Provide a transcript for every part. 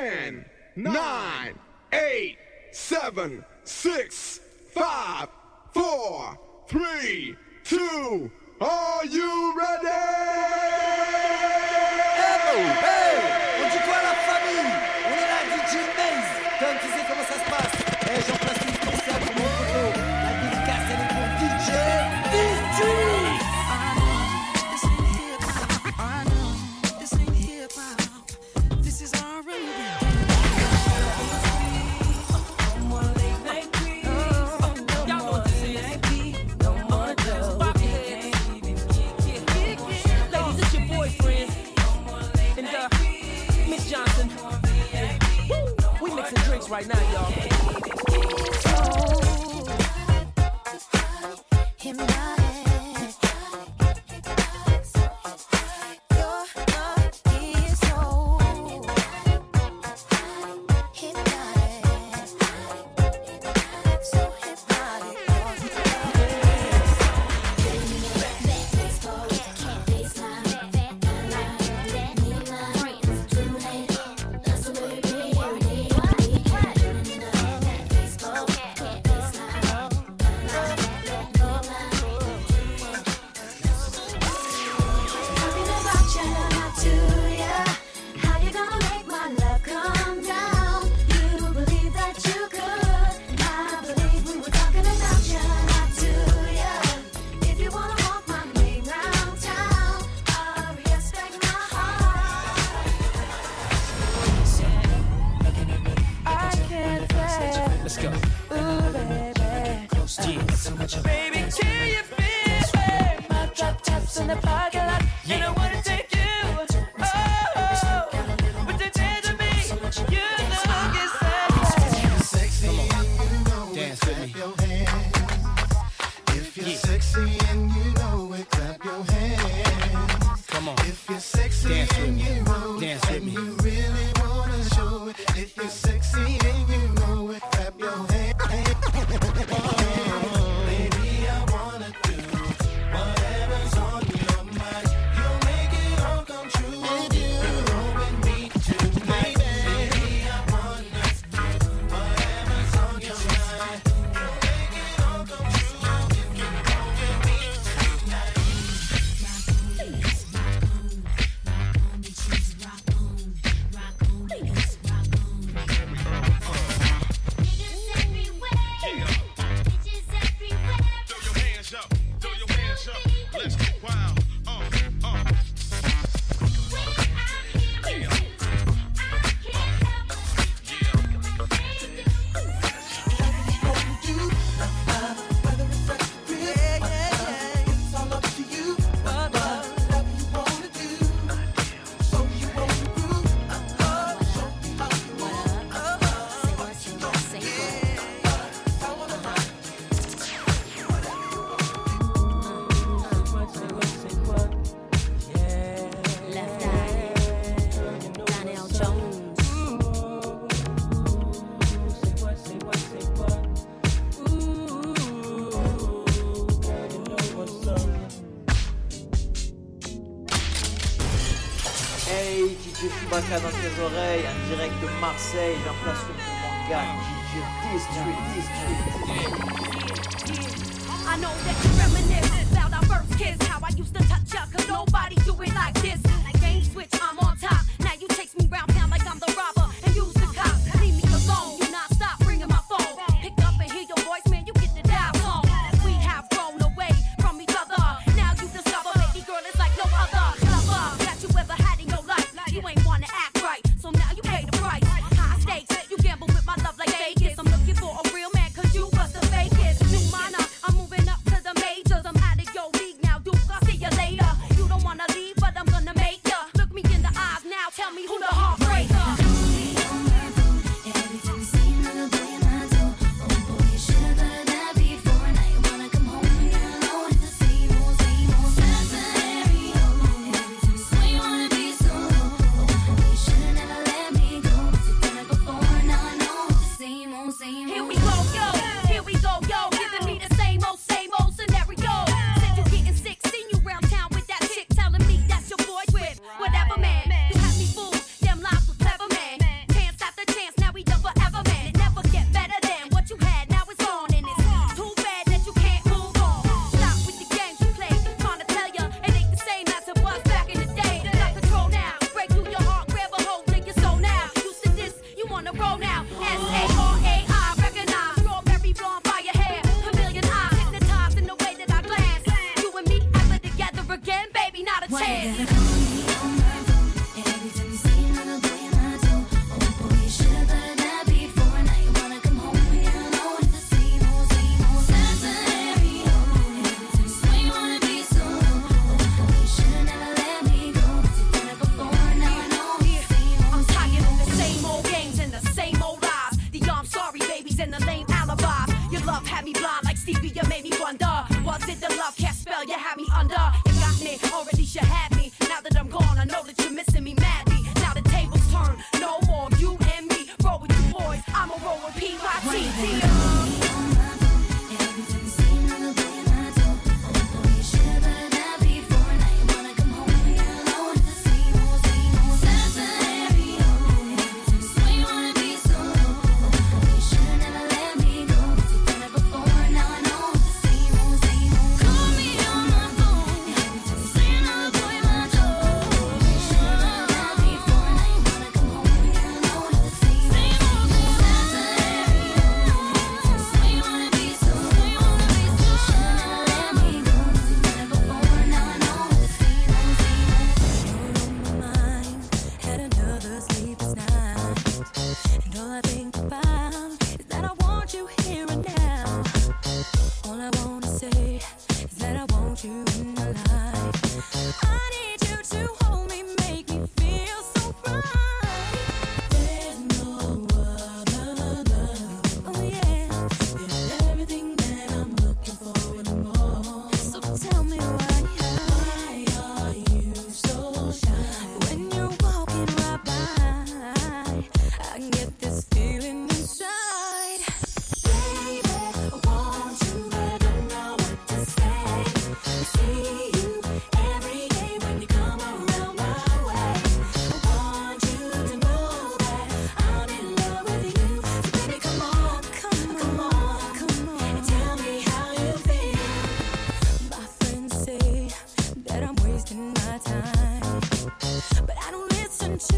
10, 9, 8, 7, 6, 5, 4, 3, 2, are you ready? Hey, on dit quoi la famille? On est là, DJ Maze. Tom, tu sais comment ça se passe? Hey, j'en place une spéciale pour mon photo. La dédicace, elle est pour DJ District. This ain't hip-hop. This is R&B. Right now, y'all. Chewbacca dans tes oreilles, en direct de Marseille, j'en place une pour mon gars, DJ District. I know that you reminisce about our first kiss, how I used to touch ya, cause nobody do it like this. Game switch, I'm on top, now you chase me round town like I'm the robber, and use the cop, leave me alone, you not stop ringing my phone, pick up and hear your voice, man, you get the dial tone. We have grown away from each other, now you discover, baby girl, it's like no other lover that you ever had in your life. You ain't wanna act right, so now you pay the price. High stakes, you gamble with my love like Vegas. I'm looking for a real man, cause you was the fakest. New minor, I'm moving up to the majors. I'm out of your league now, Duke, I'll see you later. You don't wanna leave, but I'm gonna make ya. Look me in the eye.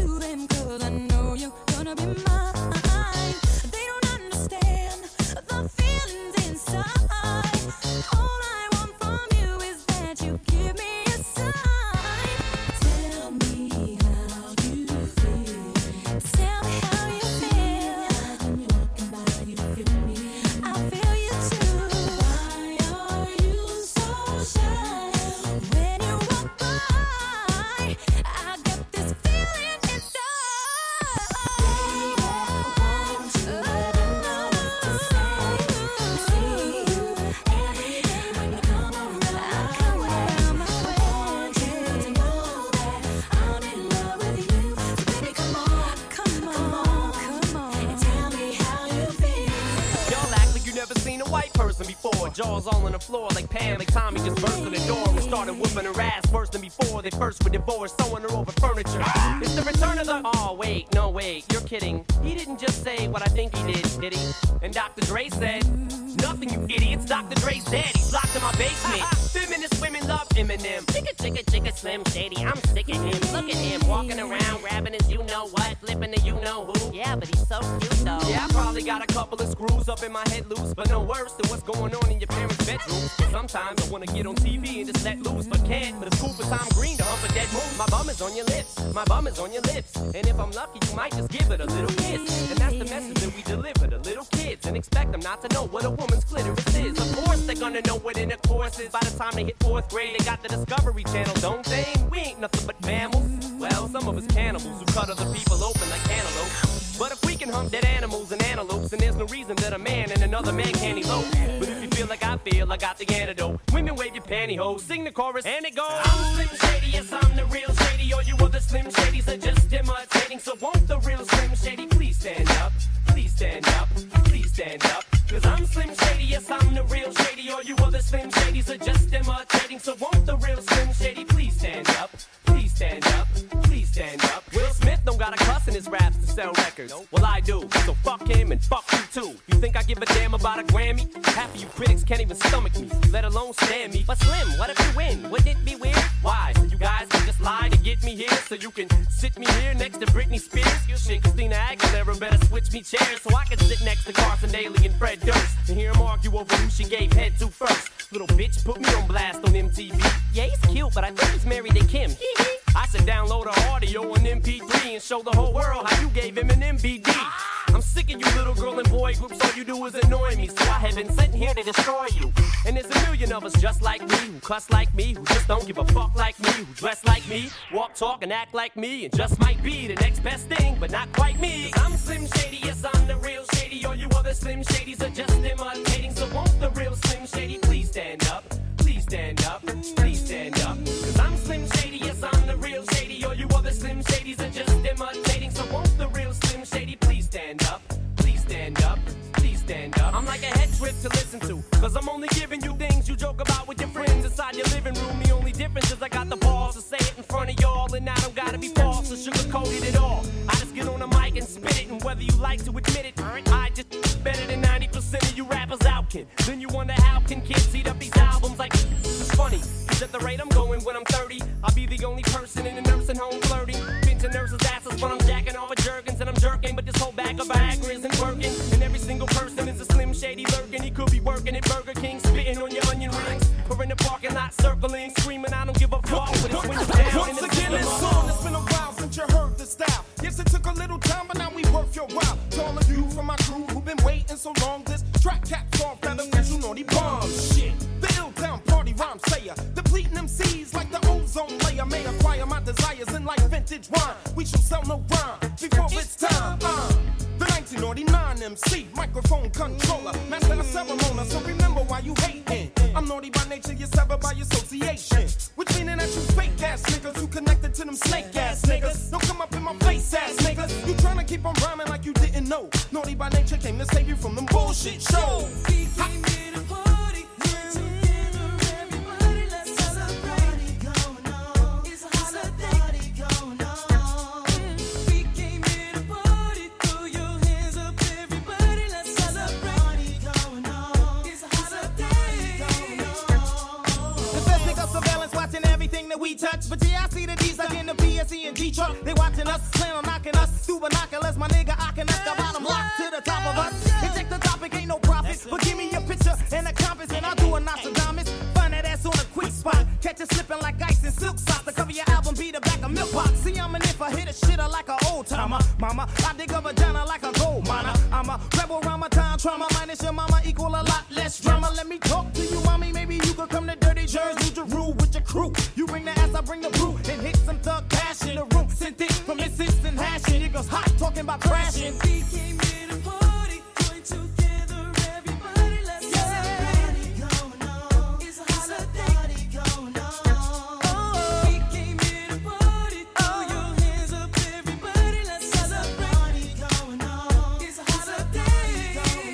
to them, 'cause I know you're gonna be mine. They don't understand the feelings inside. All I want from you is that you give me a sign. Tell me how you feel. Tell me how you feel. When you're walking by, you feel me. I feel you too. Why are you so shy? When you walk by, I get this feeling inside. Baby, won't you ever know what to say? See you every day when you come around. I want you to know that I'm in love with you. So baby, come on, and tell me how you feel. Y'all act like you never seen a white person before. Jaws all on the floor like Pam, like Tommy just burst in the door and started whooping her ass worse than before. They first were divorced, sewing her over furniture. It's the return of the... Oh, wait, no, wait, you're kidding. He didn't just say what I think he did he? And Dr. Dre said, nothing, you idiots. Dr. Dre's dead. He's locked in my basement. Feminist women love Eminem. Chicka, chicka, chicka, Slim Shady. I'm sick of him. Look at him walking around, grabbing his you-know-what, flipping the you-know-who. Yeah, but he's so cute, though. Yeah, I probably got a couple of screws up in my head loose, but no worse than what's going on in your parents' bedroom. Sometimes I wanna get on TV and just let loose, but can't. But it's cool for Tom Green to hump a dead moose. My bum is on your lips. My bum is on your lips. And if I'm lucky, you might just give it a little kiss. And that's the message that we deliver to little kids. And expect them not to know what a woman's clitoris is. Of course they're gonna know what intercourse is. By the time they hit 4th grade, they got the Discovery Channel, don't they? We ain't nothing but mammals. Well, some of us cannibals who cut other people open like cantaloupe. But if we can hump dead animals and antelopes, then there's no reason that a man and another man can't elope. But if you feel like I feel, I got the antidote. Women wave your pantyhose, sing the chorus, and it goes. I'm Slim Shady, yes, I'm the real Shady. All you other Slim Shadys are just imitating. So won't the real Slim Shady please stand up? Please stand up, please stand up. 'Cause I'm Slim Shady, yes, I'm the real Shady. All you other Slim Shadys are just imitating. So won't the real Slim Shady please stand up? Please stand up, please stand up. Will Smith don't got a cuss in his raps to sell records. Well, I do, so fuck him and fuck you too. You think I give a damn about a Grammy? Half of you critics can't even stomach me, let alone stand me. But Slim, what if you win? Wouldn't it be weird? Why? So you guys can just lie to get me here, so you can sit me here next to Britney Spears? Shit, Christina Aguilera better switch me chairs so I can sit next to Carson Daly and Fred Durst and hear them argue over who she gave head to first. Little bitch put me on blast on MTV. Yeah, he's cute, but I think he's married to Kim. I should download her audio on MP3 and show the whole world how you gave him an MVD. I'm sick of you little girl and boy groups, all you do is annoy me. So I have been sent here to destroy you. And there's a million of us just like me, who cuss like me, who just don't give a fuck like me, who dress like me, walk, talk, and act like me, and just might be the next best thing, but not quite me. I'm Slim Shady, yes, I'm the real Shady. All you other Slim Shadys are just imitating. So won't the real Slim Shady please stand up? Please stand up, please stand up. 'Cause I'm Slim Shady, yes, I'm the real Shady. All you other Slim Shadys are just imitating. So won't the real Slim Shady please stand up? Please stand up, please stand up. I'm like a head trip to listen to, 'cause I'm only giving you things you joke about with your friends inside your living room. The only difference is I got the balls to say it in front of y'all, and I don't gotta be false or sugarcoated at all. I just get on the mic and spit it, and whether you like to admit it, I just better than 90% of you rappers out, kid. Then you wonder how can kids eat up these albums like it's funny, 'cause at the rate I'm going when I'm 30, I'll be the only person in a nursing home flirting. Been to nurses' asses when I'm jacking off with Jergens and I'm jerking, but this whole bag of Viagra isn't working. And every single person is a Slim Shady lurking. He could be working at Burger King, spitting on your onion rings, or in the parking lot circling, screaming I don't give a fuck, but it's when you're down. Once again, this song, it's been a while since you heard the style. Yes, it took a little time, but now we worth your while. To all of you from my crew who've been waiting so long, this track caps off that official naughty bomb shit. The ill-town party rhyme sayer, depleting MCs like the ozone layer. May acquire my desires in like vintage wine. We shall sell no rhyme before it's time. The 1989 MC, microphone controller, master of ceremony, so remember why you hating. I'm naughty by nature, you're severed by association, which meaning that you fake ass niggas who connected to them snake ass niggas. Don't come up in my face ass niggas. You tryna keep on rhyming like you didn't know. Naughty by nature came to save you from them bullshit shows. We came here to party, together everybody, let's celebrate. Going on, it's a holiday going on. We came here to party, throw your hands up everybody, let's celebrate. Going on, it's a holiday going on. The best pick up surveillance watching everything that we touch, but yeah, I see the D's like in the PSE and G truck. They watching us slam on timer. Mama, I dig a vagina like a gold miner. I'm a rebel around my time trauma. Minus your mama equal a lot less drama. Let me talk to you, mommy. Maybe you could come to Dirty Jersey to rule with your crew. You bring the ass, I bring the brew. And hit some thug cash in the room. Sent it from incense and hashing. It goes hot talking about crashing. We came here to party, join together, everybody, let's celebrate. It's a holiday going on. We came here to party, throw your hands up, everybody, let's celebrate. It's a holiday going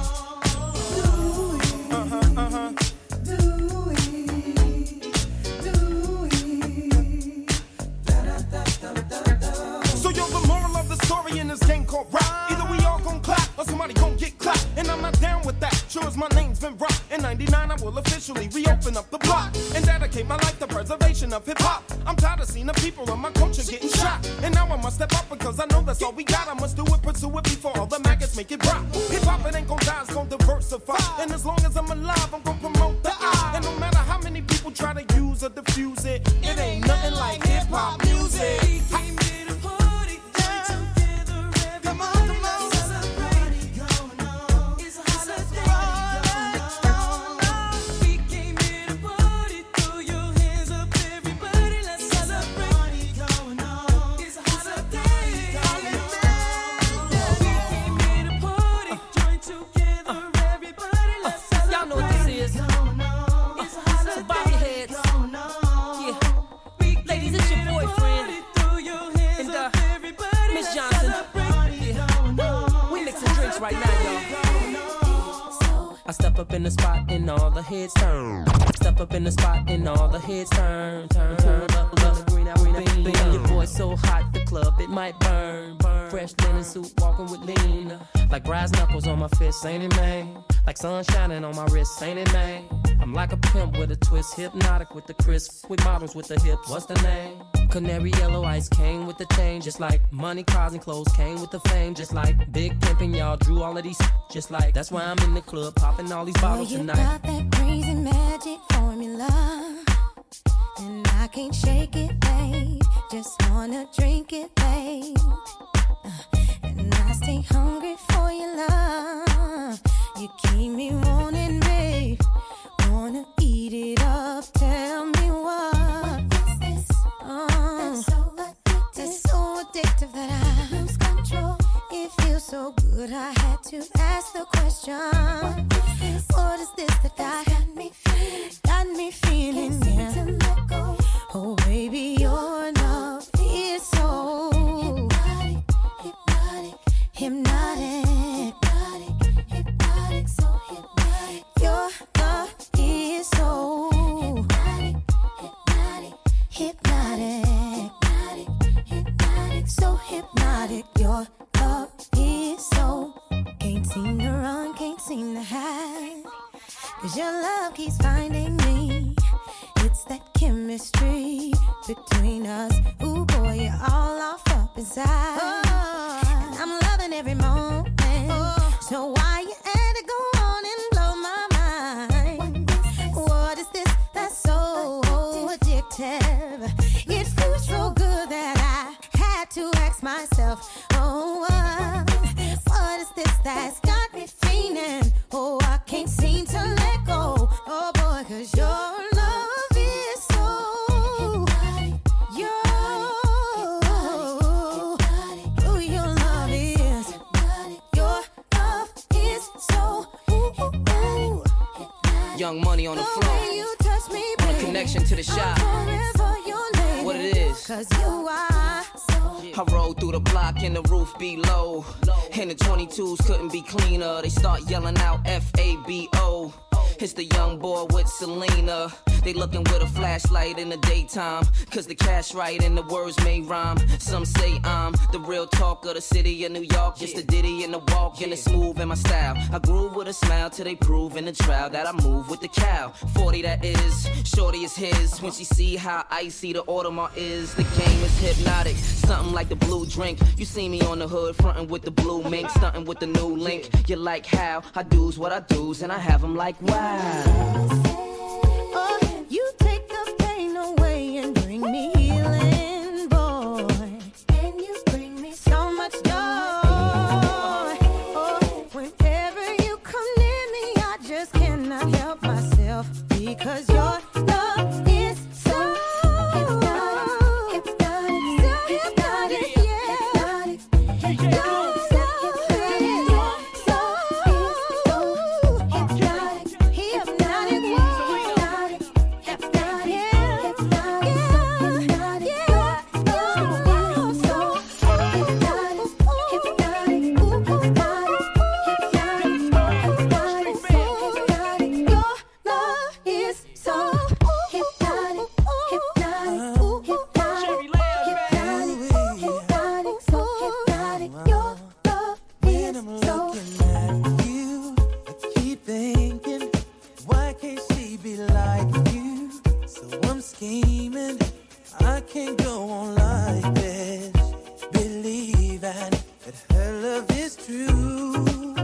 So yo, the moral of the story in this game called rap. Either we all gon' clap or somebody gon' get clapped. And I'm not down with that. Sure as my name's been rocked. In 99 I will officially reopen up the block and dedicate my life to preservation of hip-hop. I'm tired of seeing the people of my culture getting shot. And now I must step up because I know that's all we got. I must do it, pursue it before all the maggots make it rock. Hip-hop, it ain't gon' die, it's gon' diversify. And as long as I'm alive, I'm gon' promote the I. And no matter how many people try to use or diffuse it, it ain't nothing like hip-hop music. We came here to party, join together, everybody, let's celebrate. It's a holiday going on. We came here to party, throw your hands up, everybody, let's celebrate. It's a holiday going on. We came here to party, join together, everybody, let's celebrate. Y'all know what this is. It's a holiday So bob your heads. going on. Yeah. We came Ladies, it's your here to boyfriend. party, throw your hands And, up, everybody, Miss let's Johnson. celebrate. Yeah. We mixing drinks right now, y'all. I step up in the spot and all the heads turn. Step up in the spot and all the heads turn. Turn up, green out, beam. Your boy's so hot, the club, it might burn. Fresh linen suit, walking with lean. Like brass knuckles on my fist, ain't it, man? Like sun shining on my wrist, ain't it, man? I'm like a pimp with a twist, hypnotic with the crisp, with models with the hips. What's the name? Canary yellow ice came with the chain, just like money, cars, and clothes came with the fame, just like big pimpin', y'all drew all of these, just like that's why I'm in the club popping all these bottles you tonight. got that crazy magic formula, and I can't shake it, babe. Just wanna drink it, babe. And I stay hungry for your love. You keep me wanting, babe. Wanna eat it up. Tell me what is this? That's so addictive that I lose control. It feels so good, I had to ask the question. What is this that got me feeling? Can't seem to let go. Oh baby, your love is so hypnotic, so hypnotic. Your love is so hypnotic, so hypnotic. Your love is so can't seem to run, can't seem to hide. 'Cause your love keeps finding me. It's that chemistry between us. Ooh boy, you're all off up inside. And I'm loving every moment. So why you had to go on and blow my mind? What is this that's so addictive? It feels so good that I had to ask myself, oh, what is this that's got me feeling? Oh, I can't seem to let go. Oh boy, 'cause your love is so your love is so Young Money on the floor. when you touch me, On a baby, connection to the shop. I'm forever your lady. What it is? 'Cause you are so I roll through the block and the roof be low. And the 22s couldn't be cleaner. They start yelling out FABO. It's the young boy with Selena. They looking with a flashlight in the daytime. 'Cause the cash right and the words may rhyme. Some say I'm the real talk of the city of New York. Just a ditty and a walk and a smooth in my style. I groove with a smile till they prove in the trial that I move with the cow. 40 that is, shorty is his. When she see how icy the Audemars is, the game is hypnotic. Something like the blue drink. You see me on the hood frontin' with the blue mink, stuntin' with the new link. You like how I do's what I do's and I have them like wow. oh, you take the pain away and bring me healing, boy. And you bring me so mission that her love is true.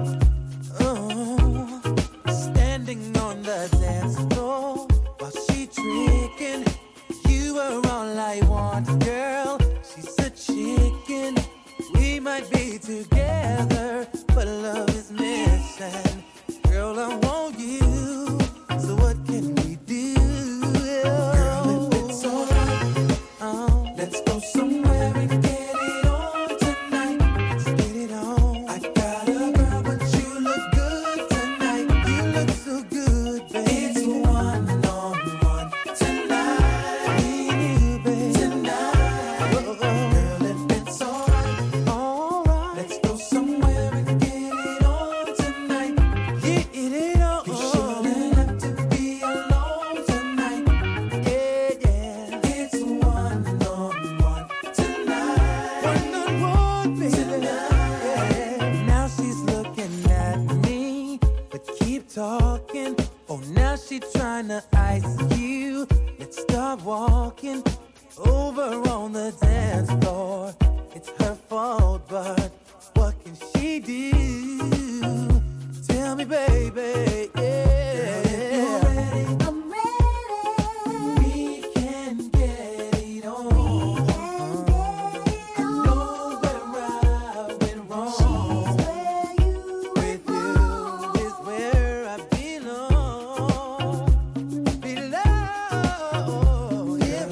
Oh, standing on the dance floor while she tricking. You are all I want, girl. She's a chicken. We might be together, but love is missing. Girl, I want you. So what can we do? Girl, if it's alright, let's go somewhere and get it on tonight. Let's get it on. I got a girl, but you look good tonight. You look so good, babe. It's one-on-one tonight. Me and you, babe. Tonight. Girl, if it's alright, let's go somewhere and get it on tonight. Get it on. You shouldn't have to be alone tonight. Yeah, yeah. It's one-on-one tonight. One-on-one, baby. Yeah. Now she's looking at me, but keep talking. Oh, now she tryna ice you. Let's start walking over on the dance floor. It's her fault, but what can she do? Tell me, baby. Yeah. I'm ready. We can get it on. I know where I went wrong. With you is where I belong. If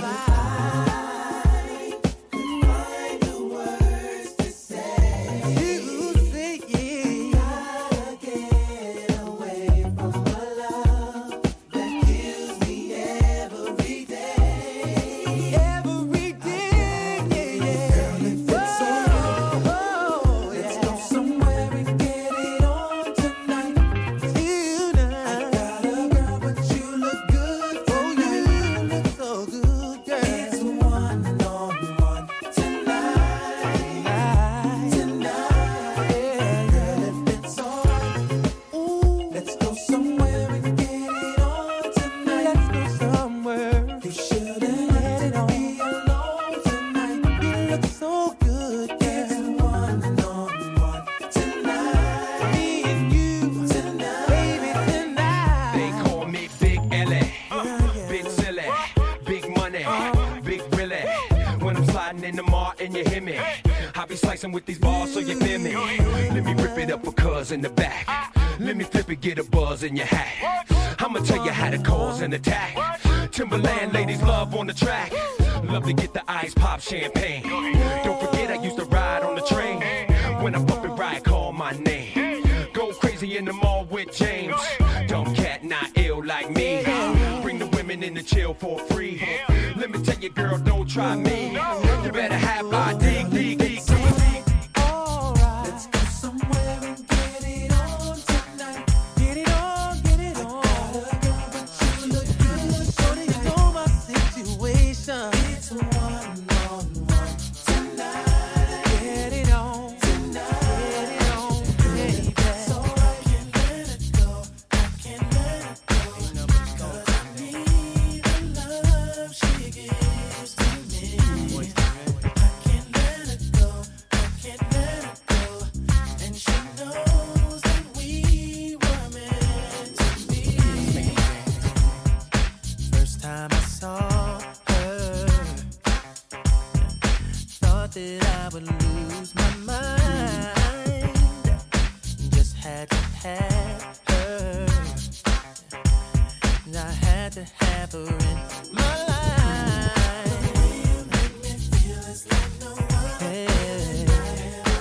I could find the words to say, you say yeah. Gotta get away from a love that kills me every day. Every day, yeah, yeah. Girl, if it's alright, let's go somewhere and get it on tonight. I got a girl, but you look good. Oh, you look so good, girl. It's one-on-one tonight. Tonight, yeah. Girl, if it's alright, let's go somewhere and get it on tonight. Let's go somewhere. You shouldn't have to be alone tonight. You look so good, girl. It's one-on-one tonight. Me and you tonight, baby, tonight. They call me Big L.A. Big silly, big money, big Willie. When I'm sliding in the mart and you hear me, I be slicing with these balls so you feel me. Let me rip it up for cuz in the back. Let me flip it, get a buzz in your hat. I'ma tell you how to cause an attack. Timberland ladies love on the track. Love to get the ice pop champagne. Don't forget I used to ride on the train. When I bump it right, call my name. Go crazy in the mall with James. Dumb cat, not ill like me. Bring the women in to chill for free. Let me tell you, girl, don't try me. You better have my dig. Alright, let's go somewhere and get it on tonight. Get it on, get it on. I got a girl, but you look good. So do you know my situation? It's one-on-one tonight. Get it on tonight. Get it on, baby. So I can't let it go. I can't let it go. Because I need the love she gives to me. I can't let it go. I can't let it go. And she knows that we were meant to be. First time I saw her, thought that I would lose my mind. Just had to have her. And I had to have her in my life. You make me feel it's like no other.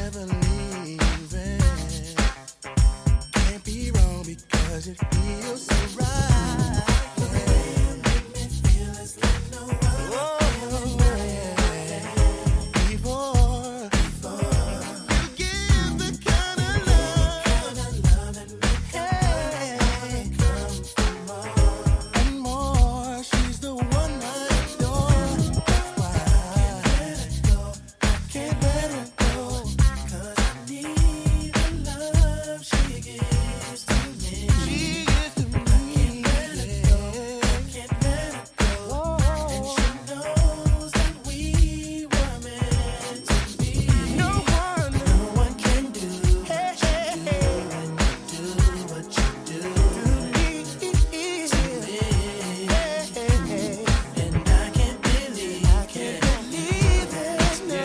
never leaving. Can't be wrong because it feels so right. Make me feel it's like no other. Before you give the kind of love and more. She's the one I adore. Why? Can't let her go. 'Cause I need the love she gives to me. She gives to me. Can't let her go. And she knows that we were meant to be. No one can do what you do when you do what you do to me. And I can't believe there's no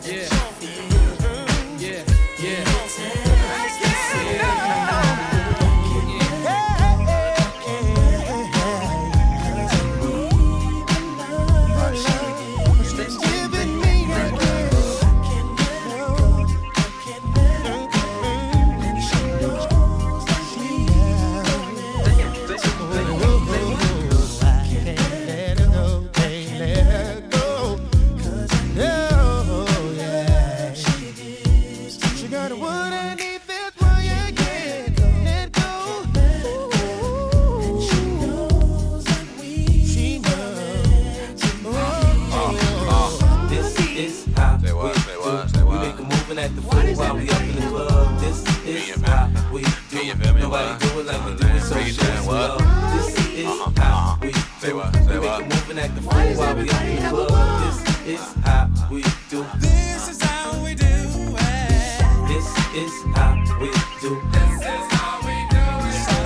she got what I need, that's why I can't let go. And she knows that we This is how we make a moving at the foot while we up in the club. This is how we do. Nobody do it like we do it, so show us love. This is how we do. We make a moving at the foot while we up in the club. This is how we do. This is how we do it. This is how we do. This is how we do it. This is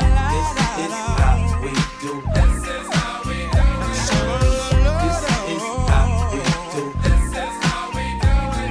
how we do. This is how we do it. This is how we do. This is how we do it.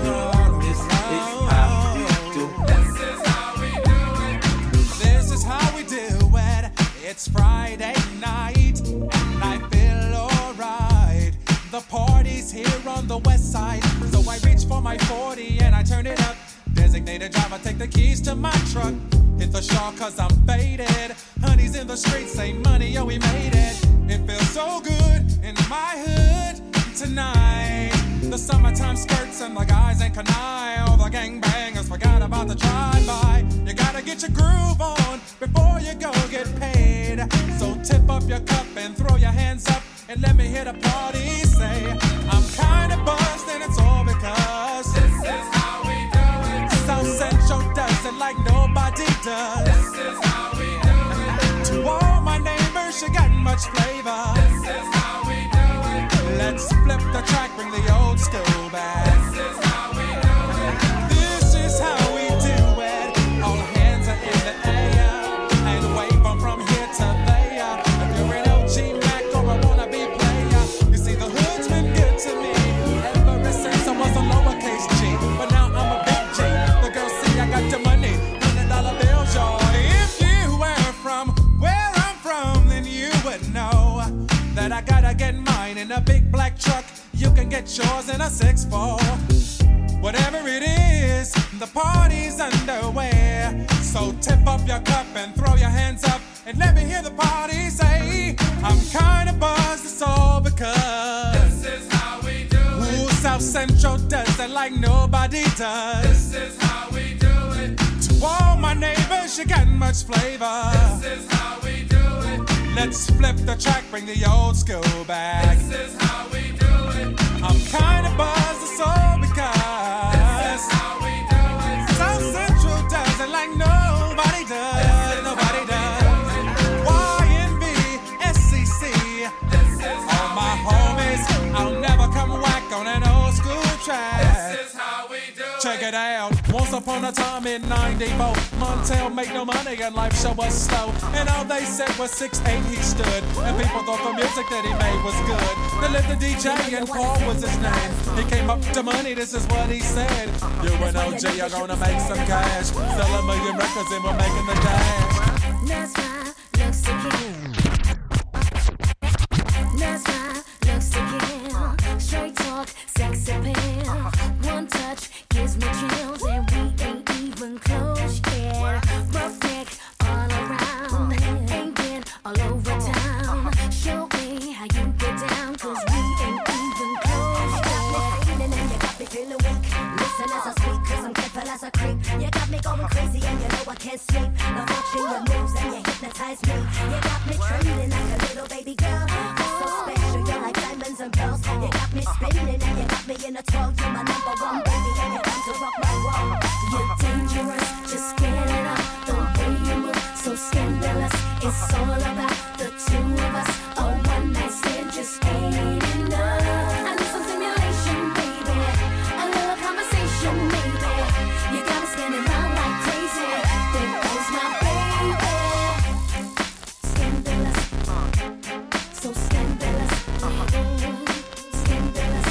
This is how we do. This is how we do it. This is how we do it. It's Friday night and I feel alright. The party's here on the west side, so I reach for my 40 and I turn it up. Designated driver, take the keys to my truck. Hit the shawl cause I'm faded. Honey's in the streets, say money, yo, we made it. It feels so good in my hood tonight. The summertime skirts and the guys ain't canine. All the gangbangers forgot about the drive-by. You gotta get your groove on before you go get paid. So tip up your cup and throw your hands up and let me hear the party say, I'm kinda buzzed and it's all because this is how we do it. South Central does it like nobody does. This is how we do it. To all my neighbors, you got much flavor. This is how we do it. Let's flip the track, bring the old school back. This is how we do it. This is how we do it. All hands are in the air and wave 'em from here to there. If you're an OG Mac or a wannabe player, you see the hood's been good to me ever since I was a lowercase G. But now I'm a big G. The girls see I got the money, $100 bills, y'all. If you were from where I'm from, then you would know that I gotta get mine in a big black truck. You can get yours in a 6'4". Whatever it is, the party's underway. So tip up your cup and throw your hands up and let me hear the party say, I'm kinda buzzed, it's all because This is how we do it. Ooh, South Central does it like nobody does. This is how we do it. To all my neighbors, you got much flavor. This is how we do it. Let's flip the track, bring the old school back. This is how we do it. I'm kinda buzzed, it's all because This is how we do it. South Central does it like nobody does. Nobody does. YNB, SCC. This is All my homies, I'll never come whack on an old school track. This is how we do it. Check it out. Once upon a time in '94, Montel made no money and life show was slow. And all they said was 6'8" he stood. And people thought the music that he made was good. They lived the DJ and Paul was his name. He came up to money, this is what he said. You and OG are gonna make some cash. Sell 1 million records and we're making the dash. That's my looks again. That's my looks again. Straight talk, sex appeal. One touch gives gives me chills and we ain't even close yet. Rough neck all around, ain't been all over town. Show me how you get down, cause we ain't even close yet. Feeling and you got me feeling weak. Listen as I speak, cause I'm careful as I creep. You got me going crazy and you know I can't sleep. Now watching your moves and you hypnotize me. You got me trembling like a little baby girl. You're so special, you're like diamonds and pearls. You got me spinning and you got me in a twirl. You're my number one baby and you're down to rock my world. You're dangerous, just get it up. The way you move, so scandalous. It's all about the two of us. A one night stand just ain't enough. I need some stimulation, baby. A little conversation, maybe. You got me spinning round like crazy. There goes my baby. Scandalous, so scandalous. Scandalous,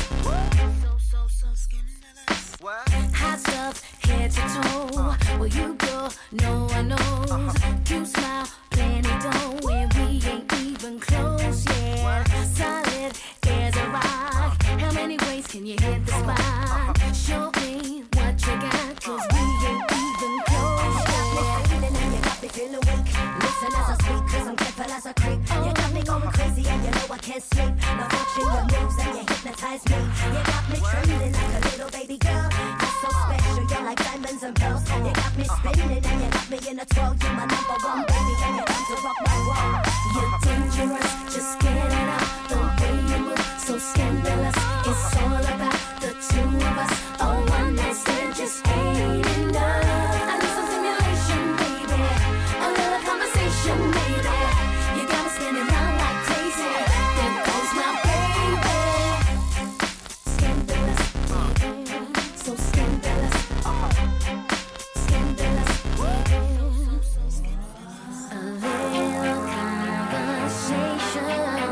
so scandalous. Hot stuff, head to toe. Where you go, no one knows. Cute smile, plenty dough, and we ain't even close yet. Solid as a rock. How many ways can you hit the spot? Show me what you got, cause we ain't even close yet. Feeling and you got me feeling weak. Listen as I speak, cause I'm careful as I creep. You got me going crazy and you know I can't sleep. Now watching your moves and you hypnotize me. You got me trembling like a little baby girl. You're so special, you're like diamonds and pearls. You got me spinning and you got me in a twirl. You're my number one baby and you're down to rock my world. You're dangerous, just get it up. The way you move, so scandalous. It's all about the two of us. A one night stand just ain't enough. I need some stimulation, baby. A little conversation, maybe. You got me spinning round like crazy. There goes my baby. Scandalous, so scandalous. Scandalous, a little conversation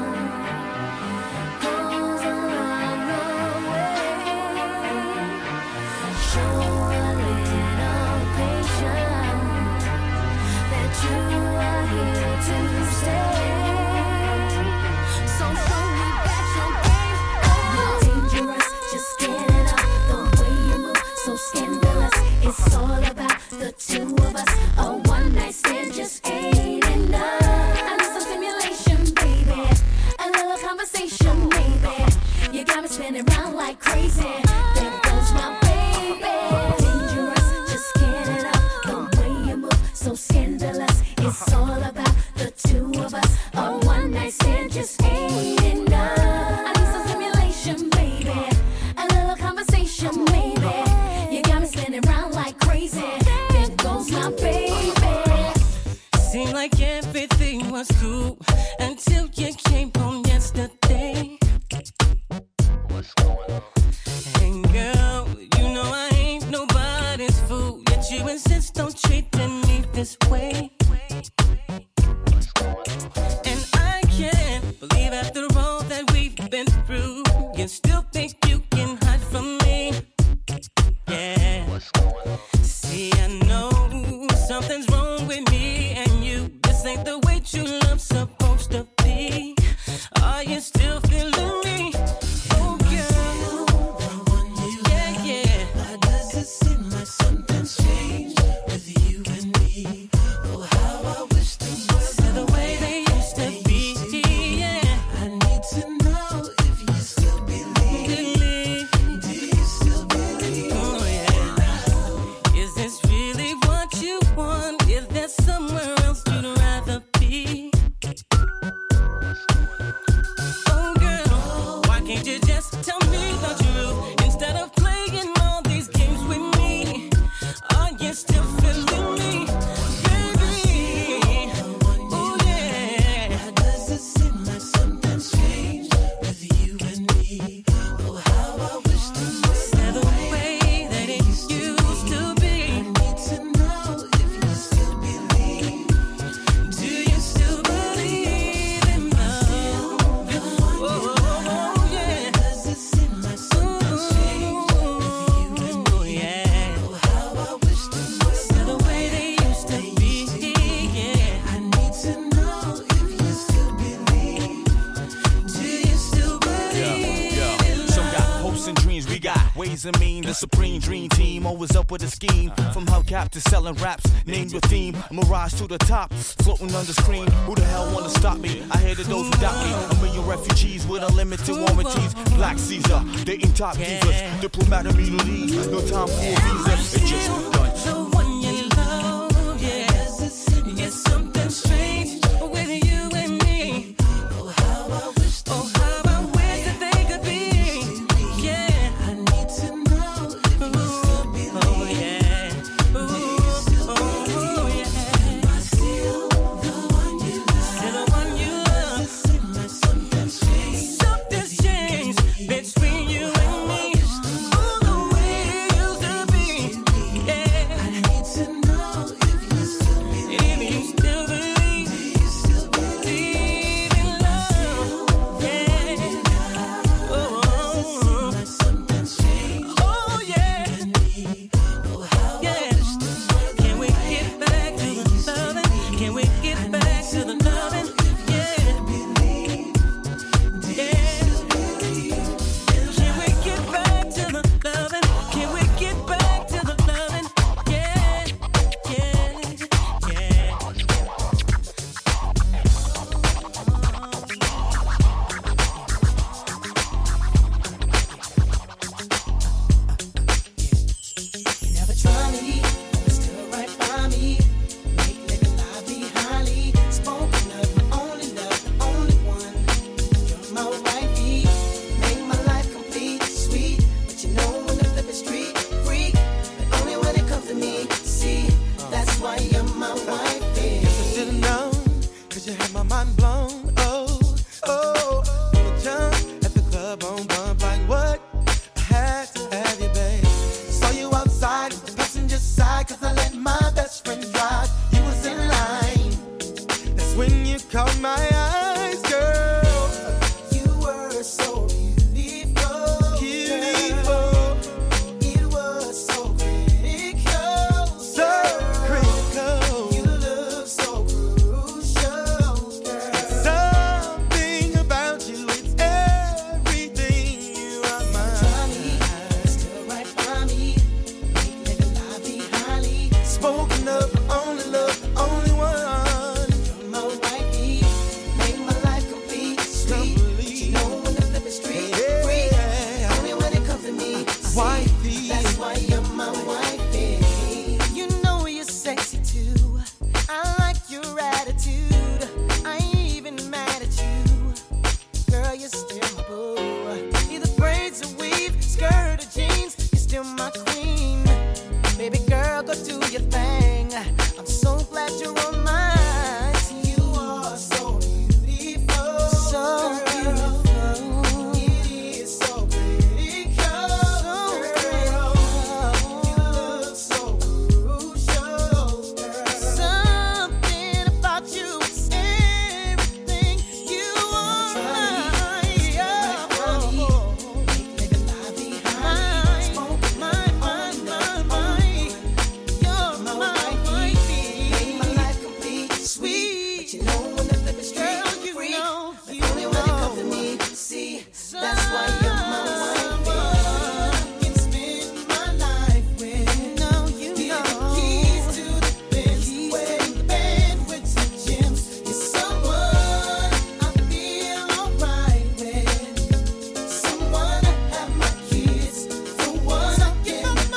goes a long way. Show a little patience that you are here to stay. So show me that your game. You're dangerous, just get it up. The way you move, so scandalous. It's all about the two of us. A one night stand just ain't enough. I need some stimulation, baby. A little conversation, maybe. You got me spinning round like crazy. There goes my baby. Dangerous, just get it up. The way you move, so scandalous. It's all about the two of us. A one night stand just ain't enough. I need some stimulation, baby. A little conversation, maybe. You got me spinning round like crazy. There goes my baby. Seemed like everything was cool until you came home yesterday. What's going on? And girl, you know I ain't nobody's fool, yet you insist on treating me this way. And I can't believe after all that we've been through, you still think you can hide from me. Yeah. See, I know something's wrong with me and you. This ain't the way true love's supposed to be. Are you still feeling me? Oh, girl. Yeah, yeah. Why does it seem like something's changed with you and me? Oh, how I wish things were the way they used to be. Yeah. I need to know if you still believe. Do you still believe? Oh, yeah. Is this really what you want? Is there somewhere else you'd rather be? Oh, girl, why can't you just tell me the truth instead of playing all these games with me? means and mean. The supreme dream team, always up with a scheme. From hubcap to selling raps, name your theme. A mirage to the top, floating on the screen. Who the hell wanna stop me? I hated those who doubt me. A million refugees with unlimited warranties. Black Caesar, dating top divas. Diplomat in Middle East, no time for a visa. It just begun. The one you love, yes, it's something strange with you and me. Oh, how I wish that they could be. Yeah, I need to know if you still be oh yeah, oh yeah. Am I still the one you love? Still the one you love. Something's changed between you and me. Oh, the way it used to be. Yeah, I need to know if you still believe. If you still believe, believe in love. Yeah. Oh, something's changed. Oh yeah. Yeah. Can we get back to the loving? Can we get back to the loving? Yeah. Can we get back to the loving? Can we get back to the loving? Yeah. You never try me, but still right by me. Make living life be highly spoken of. My only love, the only one. You're my wifey. Make my life complete, sweet. But you know when the flip is street freak. But only when it comes to me. See, that's why you're my wifey. Guess I should've known, 'cause you had my mind blown. Oh, you were jump at the club on bump like what? I had to have you, babe. Saw you outside, the passenger side, 'cause I let my best friend drive. You was in line. That's when you caught my eyes, girl. You were so beautiful. Beautiful, It was so critical. so critical. You look so crucial, girl. Something about you, it's everything. You are mine. Still right by me. Make living life be highly. Spoken of, only love, only one. You're my wifey. Make my life complete, sweet. But you know when the flip is street free. Yeah. Only when it comes to me. See, Wifey. that's why you're my wifey. You know you're sexy too. I like your attitude. I ain't even mad at you. Girl, you're still my boo. Either braids or weave, skirt or jeans, you're still my queen. Baby girl, go do your thing. I'm so glad you're on mine. You are so beautiful. So beautiful. It is so critical. So critical. You look so crucial, girl. Something about you is everything. You are mine. Living life behind. Mine. You're my wifey. Make my life complete, sweet. But you know when the flip is straight free. But only when it comes to me. See, that's why you're my wifey. I can spend my life with. Feel the keys to the Benz. Wearing the band with some gems. You're someone I feel alright with. Someone I have my kids. Someone I give my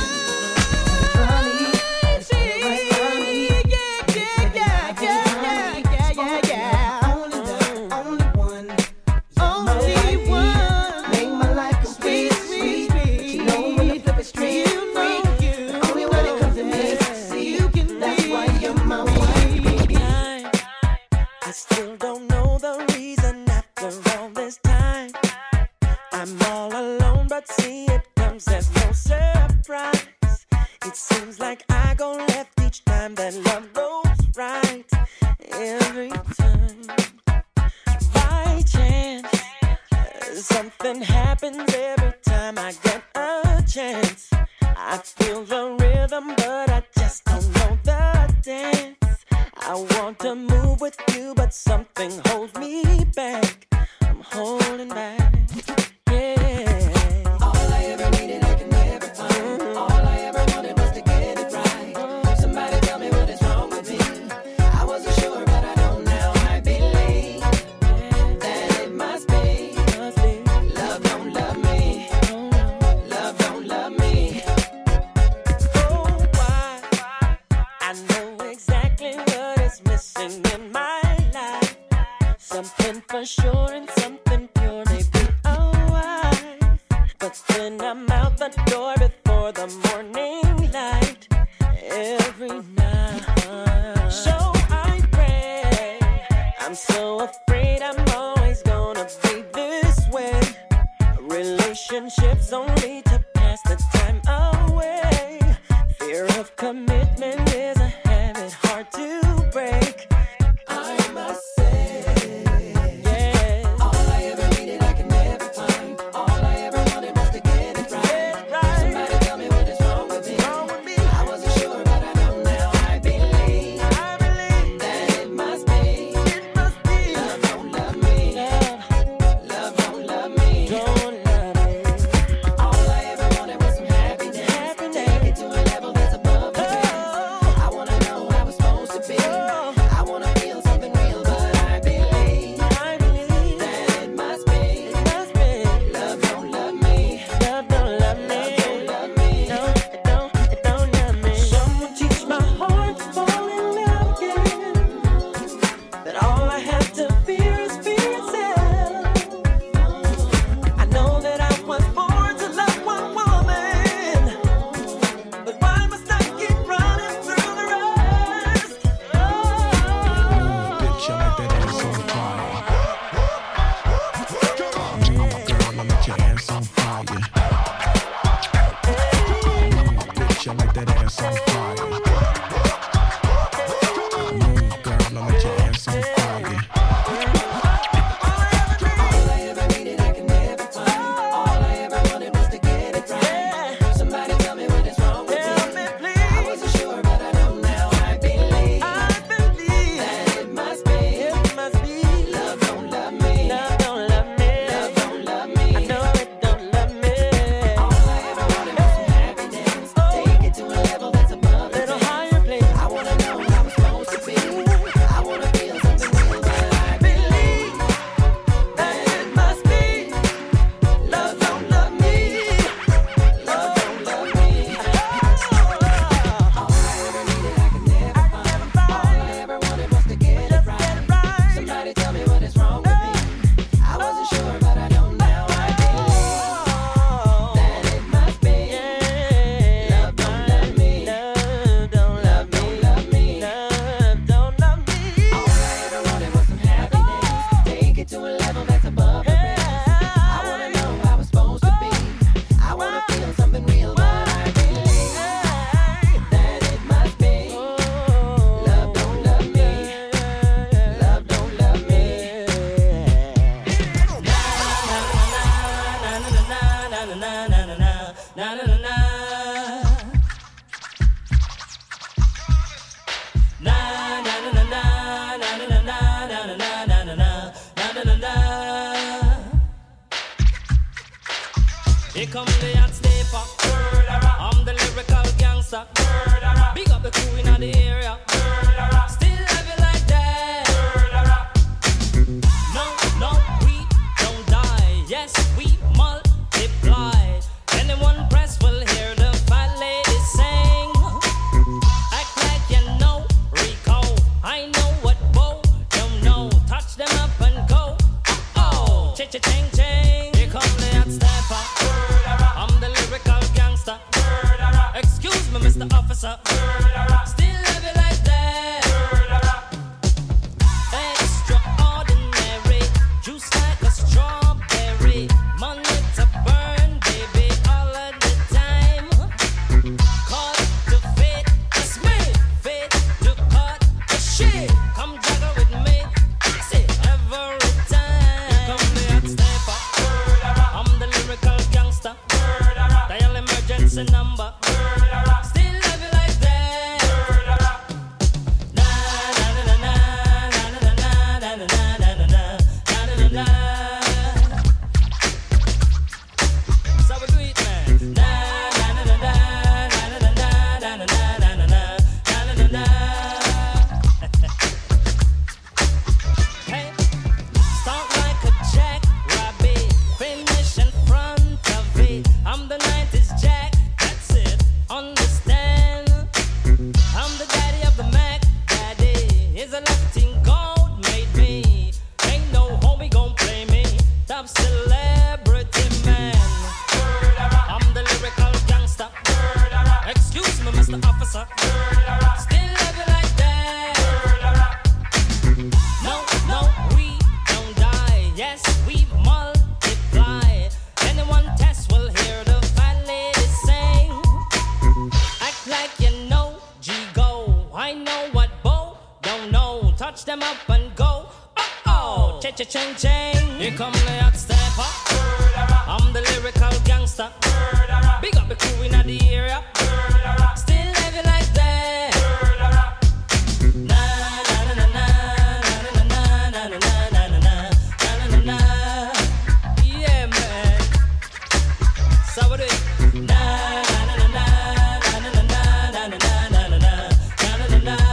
I still don't know the reason after all this time. I'm all alone, but see it comes as no surprise. It seems like I go left each time that love goes right. Every time, by chance, something happens every time I get a chance. I feel the rhythm, but I just don't know the dance. I want to move with you, but something holds me back. I'm holding back. Yeah. All I ever needed, I can every night. So I pray. I'm so afraid I'm always gonna be this way. Relationships only to pass the time away. Fear of commitment is a habit hard to break. I must say, yeah. All I ever needed I can never find. All I ever wanted was to get it right. Somebody tell me what is wrong with me. I wasn't sure, but I know now. I believe that it must be. Love don't love me. Love don't love me. All I ever wanted was some happiness. Take it to a level that's above the best. I wanna know how it's supposed to be. I wanna feel something real, but I believe that it must be. Love don't love me. Love don't love me. No, it don't love me. Someone teach my heart to fall in love again. That all I have to fear is fear itself. I know that I was born to love one woman, but why must I keep running through the rest? Bitch, I like that ass on fire. Girl, I like your ass on fire. Bitch, I like that ass on fire. Girl, I like your ass on fire. All I ever needed I can never find. All I ever wanted was to get it right. Somebody tell me what is wrong with me. I wasn't sure, but I know now. I believe that it must be. Love don't love me. Love don't love me. Love don't love me. I know it don't love me. All I ever wanted was some happiness. Take it to a level that's above the best. Higher place. I wanna know how it's supposed to be. I wanna feel something real, but I believe that it must be. Love don't love me. Love don't love me. All I ever needed I could never find. All I ever wanted was to get it right. Somebody tell me what is wrong with me. I wasn't sure, but I know now. I believe that it must be. Love don't love me. Love don't love me. Love don't love me. All I ever wanted was some happiness. Take it to a level that's above the rest. I wanna know how it's supposed to be. I wanna feel something real, but I believe that it must be. Love don't love me. Love don't love me. Here come the hot stepper. I'm the lyrical gangster. Big up the crew in the area. Still love you like that. No, we don't die. Yes, we multiply. Anyone press will hear the fat lady sing. Act like you know Rico. I know what Bo don't know. Touch them up and go. Oh, ching ching. Here come the hot stepper. I'm the lyrical gangster. Excuse me, Mr. Officer. Still love you like that. Extraordinary, juice like a strawberry. Money to burn, baby, all of the time. Cut to fit, it's me. Fit to cut the shit. Come juggle with me, see every time. Here come the hot stepper. I'm the lyrical gangster. Dial emergency number. Still love you like that. the officer. Still love you like that. No, we don't die. Yes, we multiply. Anyone test will hear the fat lady sing. Act like you know, G-Go. I know what Bo don't know. Touch them up and go. Oh, cha-cha-ching-ching. Here come the hot stepper. I'm the lyrical gangster. Big up the crew in the area. Still love you like that. Na na na na na na na na na na na na na. Yeah, man. So what do you? Na na na na na na na na na na na na na.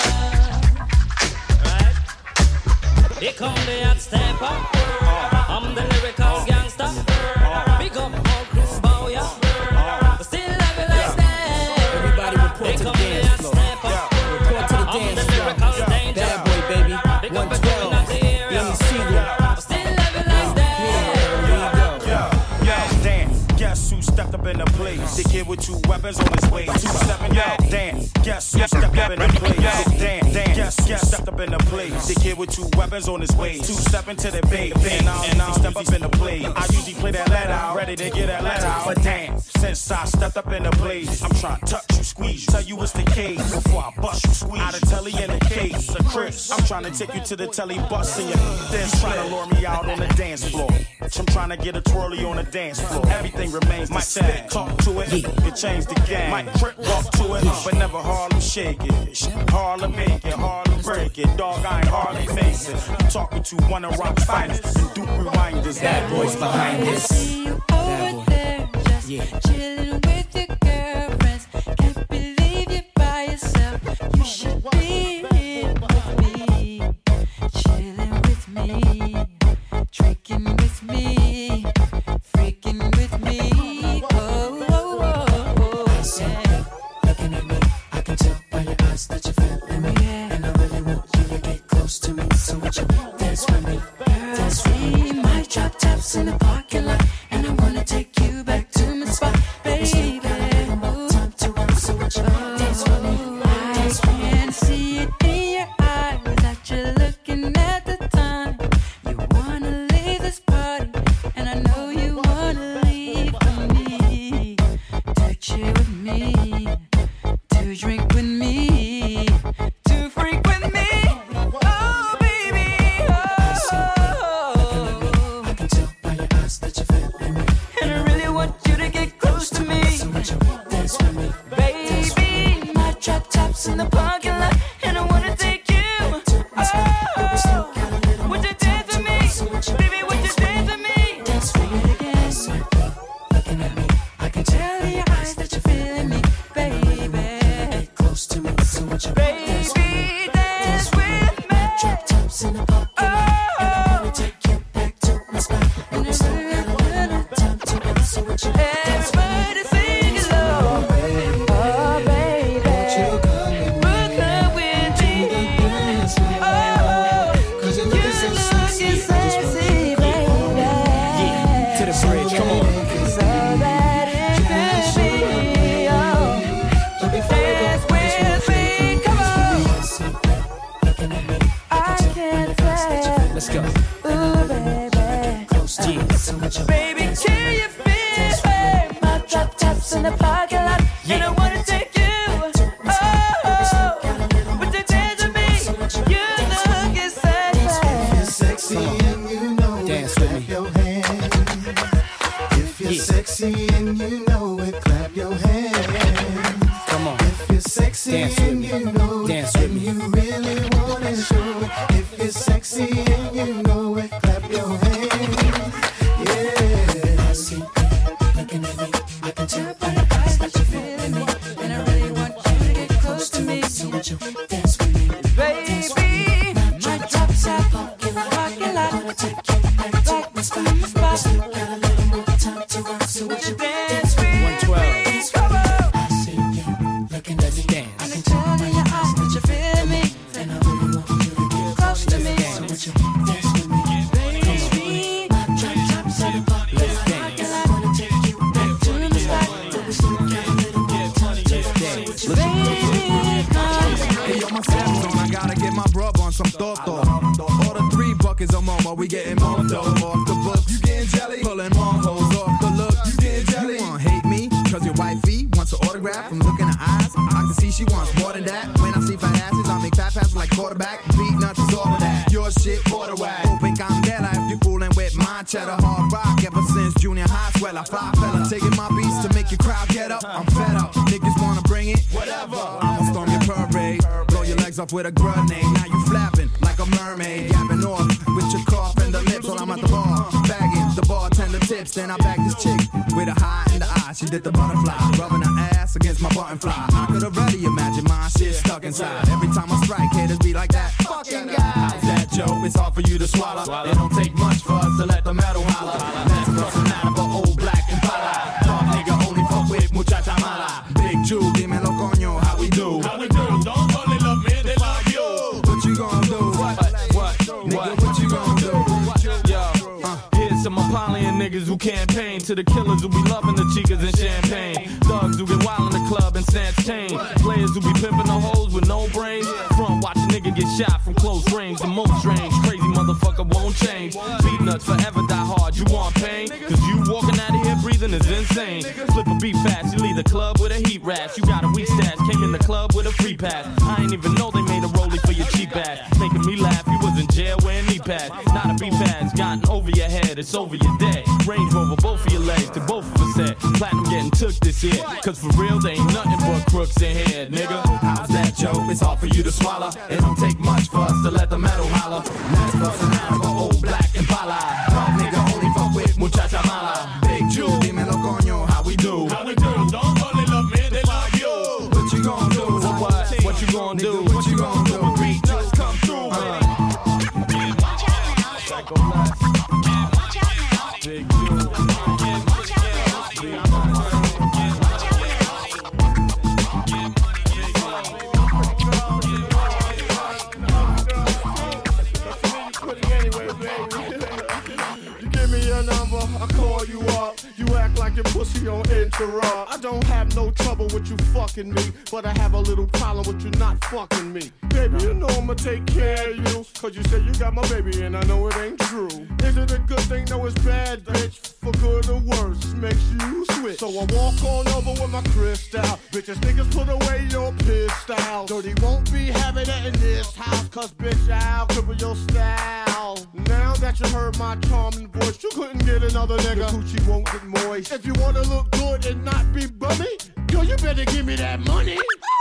Right? Here come the hot stepper. I'm the lyrical gangster. Big up all crew bow, yeah. Still love you like that. Everybody report to the dance floor. Report to the dance floor. Bad boy, baby. 112. Benny Siegel. Still love you like that. Yo, damn, guess who stepped up in the place? The kid with two weapons on his way. 2-7, yo, damn, guess who stepped up in the place? Damn, guess who stepped up in the place? The kid with two weapons on his way. 2-7 to the bait, and I'll step up in the place. I usually play that let out, ready to get that let out. But damn, since I stepped up in the place, I'm trying to touch you, squeeze you, tell you it's the case before I bust you, squeeze out of telly in the case. A Chris, I'm trying to take you to the telly bus and your dance, trying to lure me out on the dance floor. I'm trying to get a twirly on the dance floor. Everything remains the same. Talk to it, it changed the game. Might trip, walk to it, but never Harlem shake it. Harlem make it, Harlem break it. Dog, I ain't Harlem face it. I'm talking to one of rock's finest and Duke Rewinders. Bad boys behind this. See you over there, just chilling with your girlfriends. Can't believe you're by yourself. You should be here with me, chilling with me, drinking with me, freaking with me. Oh, oh, oh, oh. Yeah. Looking at me, I can tell by your eyes that you're feeling me. And I really want you to get close to me. So would you dance with me? Dance with me. My drop tops in the parking lot, and I wanna take you back to my spot, baby. Time to run, so would you dance with me? I can see it in your eyes that you're looking at the time. You wanna leave this party, and I know you wanna leave with me. To chill with me, to drink with me, to freak with me. Oh, baby, oh. I can tell by your eyes that you're feeling me. And I really want you to get close to me. So would you dance with me? Baby, my drop tops in the parking lot, and I wanna take you. Oh, would you dance with me? Baby, would you dance with me? Dance with me again. Looking at me, I can Tell your eyes that you're feeling me, baby. get close to me. So would you dance with me? Baby, dance with me. Drop tops in the parking lot, and I wanna take you back to my spot. And we still got a little time to run. So would you dance with me? Everybody sing along. Oh, baby, Won't you come with me? we'll come with me. Dance with me. Oh, 'Cause you're you looking so look sexy. sexy, baby. Yeah, to the bridge, come on. So that it could be, oh, But before we go, dance with me, come on. looking at me, I can't tell, Let's go. ooh, baby. close to me. So would you Baby, can you feel my drop tops in the parking lot? And I wanna take you. Oh, would you dance with me? You look sexy. sexy and you know Dance it, with clap me. your hands. If you're sexy and you know it, clap your hands. Come on. If you're sexy Dance with and me. you know Dance it, with and me. you really wanna show it. If you're sexy and you know it, clap your hands. Yeah. See, looking at me, I can tell by your eyes that you're feeling me. And I really want you to get close to me. So would you dance with me? Baby, my drop top in the parking lot. Wanna take you back to my spot. Still got a little more time to run. So would you dance with me? 112. Come on. I see you looking at me. Dance. I can tell by your eyes that you're feeling me. And I really want you to get Close to me. So would you dance with me? Baby, My drop tops in the parking lot. I wanna take you back to the spot. But we still got a little more time to run. So would you more, we getting more dough off the books. You getting jelly? Pulling more hoes off the look. You getting jelly? You wanna hate me? Cause your wifey wants an autograph from looking at eyes. I can see she wants more than that. When I see fat asses, I make fat passes like quarterback. Beat nuts is all of that. Your shit, border whack. Open candela if you fooling with my cheddar. Hard rock ever since junior high. Swell, I fly fella. Taking my beats to make your crowd get up. I'm fed up. Niggas wanna bring it? Whatever. I'ma storm your parade. Blow your legs off with a grenade. Now you flapping like a mermaid. Yapping off with your cough and the lips while I'm at the bar. Bagging the bartender tips. Then I bag this chick with a high in the eye. She did the butterfly. Rubbing her ass against my button fly. I could already imagine my shit stuck inside. Every time I strike, haters be like that fucking guy. How's that, Joe? It's hard for you to swallow. It don't take much for us to let the metal holler. That's personal, but old black and pala. Dog nigga only fuck with muchacha mala. Big Jew, dímelo coño, how we do? How we do? Don't only love me, they love you. What you gonna do? What? Nigga, what you gonna do? Yo, here's some Apollyon niggas who campaign to the killers who be loving the chicas and champagne. Thugs who get wild in the club and snatch chain. Players who be pimping the hoes with no brains. Front watch a nigga get shot from close range. The most strange, crazy motherfucker won't change. Beat nuts forever die hard, you want pain? Cause you walking out of here breathing is insane. Flip a beat fast, you leave the club with a heat rash. You got a weak stash, came in the club with a free pass. I ain't even know they made a rollie for your cheap ass. Making me laugh, you was in jail wearing knee pads. Not a beef ass, gotten over your head, it's over your dead. Range Rover, both of your legs, to both of us said. Platinum getting took this year, cause for real, they ain't nothing but crooks in here, nigga. How's that, Joe? It's hard for you to swallow. It don't take much for us to let the metal holler. That's bustin' out for old black and pala. Dog nigga only fuck with muchacha mala. Big Jew, dímelo coño, how we do? How we do? Don't only love me, they love you. What you gonna do? What you gonna do? What you gonna do? When beat nuts come through, Psycho Blast. Big Jew. I call you up, you act like your pussy on interrupt. I don't have no trouble with you fucking me, but I have a little problem with you not fucking me. Baby, you know I'ma take care of you, cause you said you got my baby and I know it ain't true. Is it a good thing? No, it's bad, bitch. For good or worse, it makes you switch. So I walk on over with my crystal. Bitches, niggas, put away your pistol. Dirty won't be having it in this house, cause bitch, I'll cripple your style. Now that you heard my charming voice, you couldn't get another nigga. Your coochie won't get moist. If you wanna look good and not be bummy, yo, you better give me that money.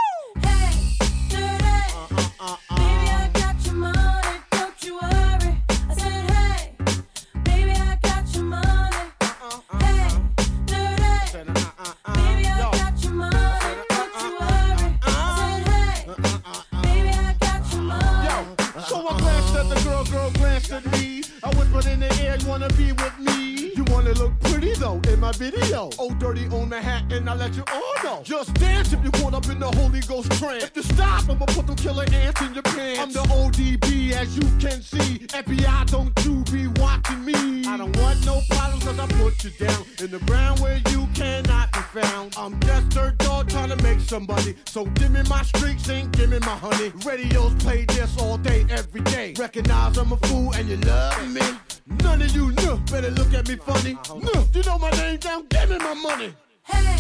Hey, dirty. Baby, I got your money, don't you worry. I said, hey, baby, I got your money. Hey, dirty. Baby, I got your money, don't you worry. I said, hey, baby, I got your money. Yo, so I glanced at the girl glanced at me. I whispered in the air, you wanna be with me? You wanna look pretty though in my video. Oh, dirty on the hat and I let you all know. Just dance if you caught up in the Holy Ghost trance. If you stop, I'ma put them killer ants in your pants. I'm the ODB as you can see. FBI, don't you be watching me. I don't want no problems cause I put you down in the ground where you cannot be found. I'm just dirt dog trying to make somebody. So give me my streaks and give me my honey. Radios play this all day, every day. Recognize I'm a fool and you love me. None of you better look at me funny. You know my name down, give me my money. Hey,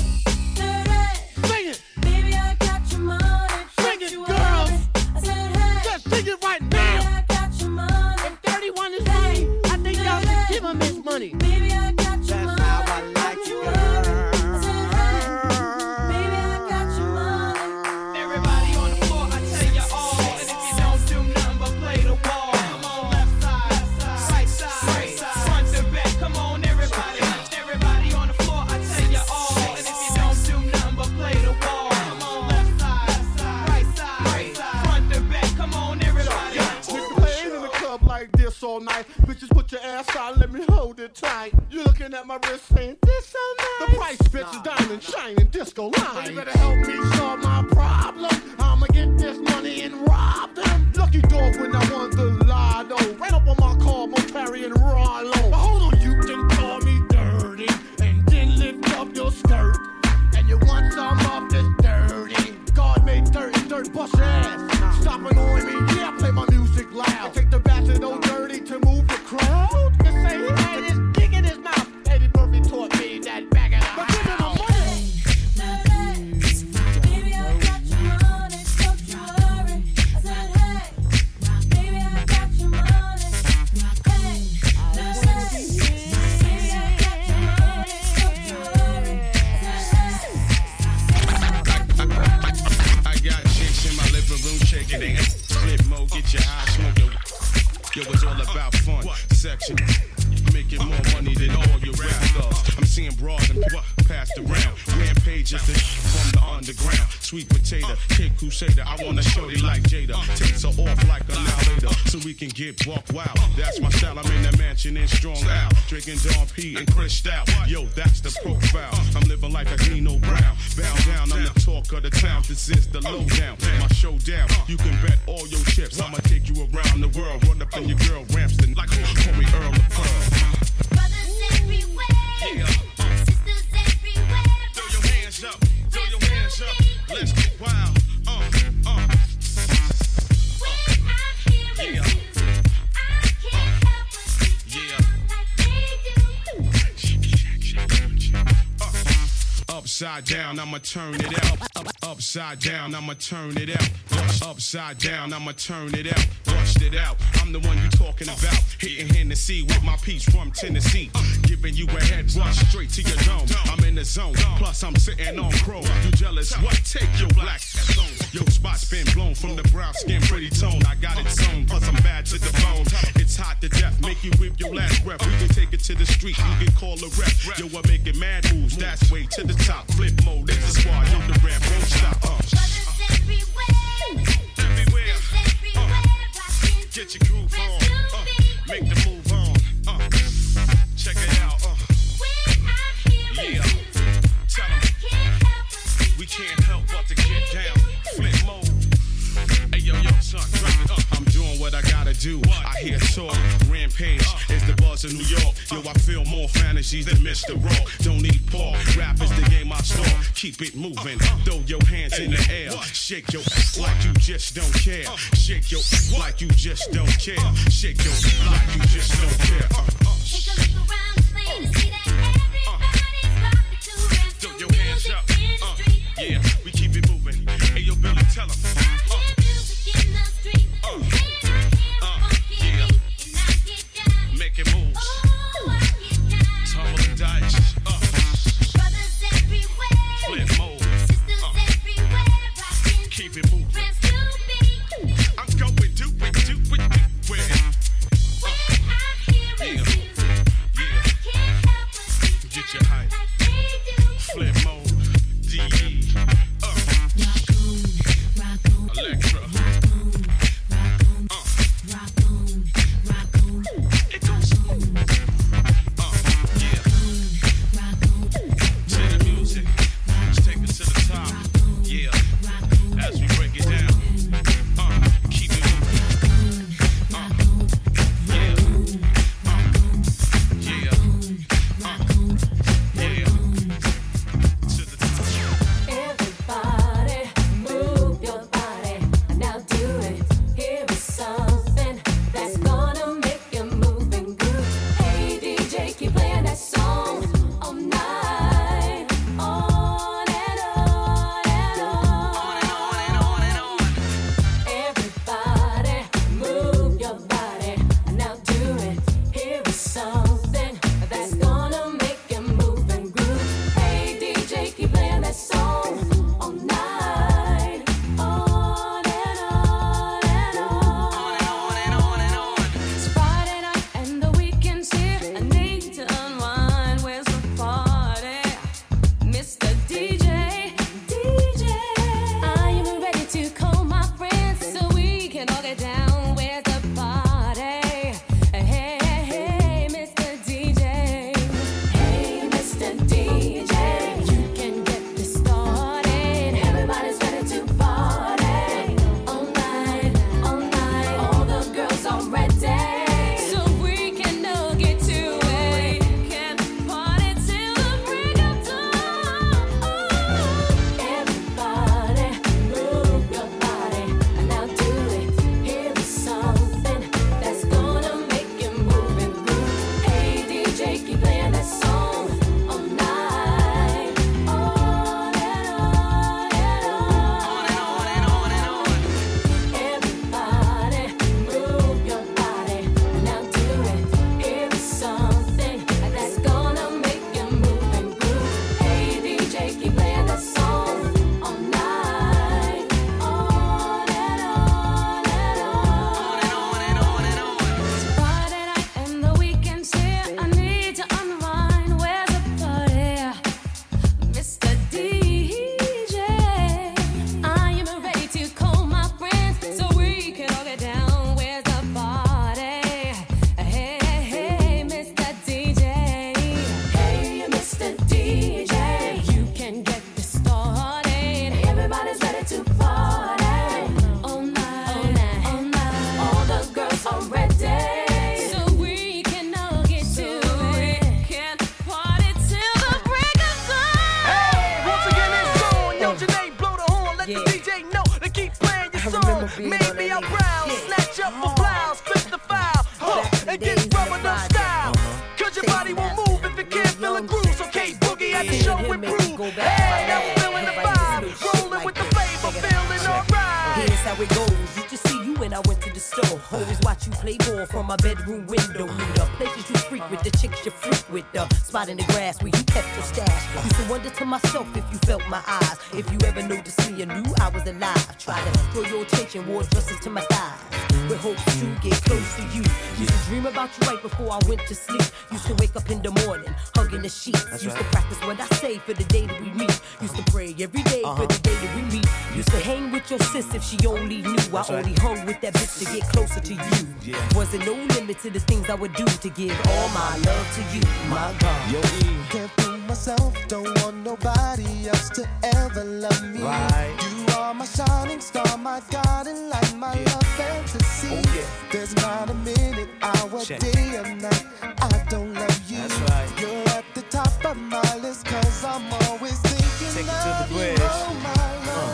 dirty. Sing it. Baby, I got your money. Sing it, girls. I said, hey. Just sing it right Baby, now. I got your money. If 31 is right, I think y'all should give him his money. Baby, I got your money. That's how I like you, girl. I said, hey. Baby, I got your money. Everybody on the floor, I tell you all. And if you don't do nothing but play the wall, come on, left side, right side, front to back. Come on, everybody. Everybody on the floor, I tell you all. And if you don't do nothing but play the wall, come on, left side, right side, front to back. Come on, everybody. Nigga playing in the club like this all night. Bitches, put your ass out, let me hold it tight. You looking at my wrist saying, this so nice. The price, bitch, is diamond shining disco line. You better help me solve my problem. I'ma get this money and rob them. Lucky dog when I won the lotto. Ran up on my car, mo carrying Rollo. But hold on, you can call me dirty. And then lift up your skirt. And you want some of this dirty. God made dirt, bust your ass. Stop annoying me, yeah, play my music loud. Take the bastard old dirty to move the crowd. take it. Ain't split mode, get your high smoke. Yo, it's all about fun. Section. Making more money than all your rap stars. I'm seeing broads and passed around. Rampage is the from the underground. Sweet potato, Kid Crusader. I want a shorty like Jada. Takes her off like an hour later, so we can get buck wild. That's my style. I'm in the mansion in Strong Out, drinking Don P and Chris Stout. Yo, that's the profile. I'm living like a Nino Brown. Bow down, I'm the talk of the town. This is the lowdown. My showdown. You can bet all your chips. I'ma take you around the world. Run up in your girl Ramston like call me Earl of Pearl. Brothers everywhere, sisters everywhere. Throw your hands up, throw your hands up. Let's get wild. When I hear it, Yeah. I can't help but see Yeah. like they do. Upside down, I'ma turn it out. Upside down, I'ma turn it out. Upside down, I'ma turn it out. Bust it out. I'm the one you talking about. Hitting Hennessy with my piece from Tennessee. Giving you a head rush straight to your dome. I'm in the zone. Plus I'm sitting on chrome. You jealous? What? Take your black ass on. Your spot's been blown from the brown skin, pretty tone. I got it sewn. Plus I'm bad to the bone. It's hot to death. Make you whip your last breath. We can take it to the street. You can call a rep. Yo, I'm making mad moves. That's way to the top. Flip mode. It's the squad. Yo, the rap won't stop. Brothers everywhere, Everywhere. everywhere. I can Get your groove on. Make the move on. Check it out. when I hear Yeah. it, Tell 'em can't help but see we can't help but to get down. Flip mode. Hey, yo, son, drop it up. I'm doing what I gotta do. I hear talk. Rampage is the buzz of New York. Yo, I feel more fantasies than Mr. Rock. Don't need Paul. Rap is the game I start. Keep it moving. Throw your hands in the air. Shake your ass like you just don't care. Shake your ass like you just don't care. Shake your ass like you just don't care. Take a look around the place to see that everybody's rocking to rap. Throw your hands up. In the street. Yeah, we keep it moving. Hey, yo, Billy, tell 'em. Music in the street. And I hear a funky yeah. beat. And I get down. Making moves. Oh, I get down. Tumbling dice. Brothers everywhere. Flip mode. Sisters everywhere. Rocking Keep it moving. rap to beat. I'm going do it. Where? When I hear it, DJ know to keep playing your song. Maybe I'll browse, snatch up the blouse, spit the file, and get rubber no style. Cause your body won't move if it can't feel a groove. So K-Boogie at the show improve. Hey, I'm feeling the vibe, rolling with the flavor, feeling alright. Here's how it goes. You just see you when I went to the store. Always watch you play ball from my bedroom window. Knew the places you frequent, the chicks you freak with, the spot in the grass where you kept your stash. Used to wonder to myself if you felt my eyes. If you ever noticed me and knew I was alive. Try to draw your attention, wore dresses to my thighs. With hopes to get close to you. Used to dream about you right before I went to sleep. Used to wake up in the morning, hugging the sheets. Used to practice what I say for the day that we meet. Used to pray every day for the day that we meet. Used to hang with your sis if she only knew. I only hung with that bitch to get closer to you. Wasn't no limit to the things I would do to give all my love to you, my God. Yo, can't fool myself, don't want nobody else to ever love me. You are my shining star, my God, and like my love fantasy. There's not a minute, hour, day, or night I don't love you. You're at the top of my list, cause I'm always thinking of you. Oh, my love.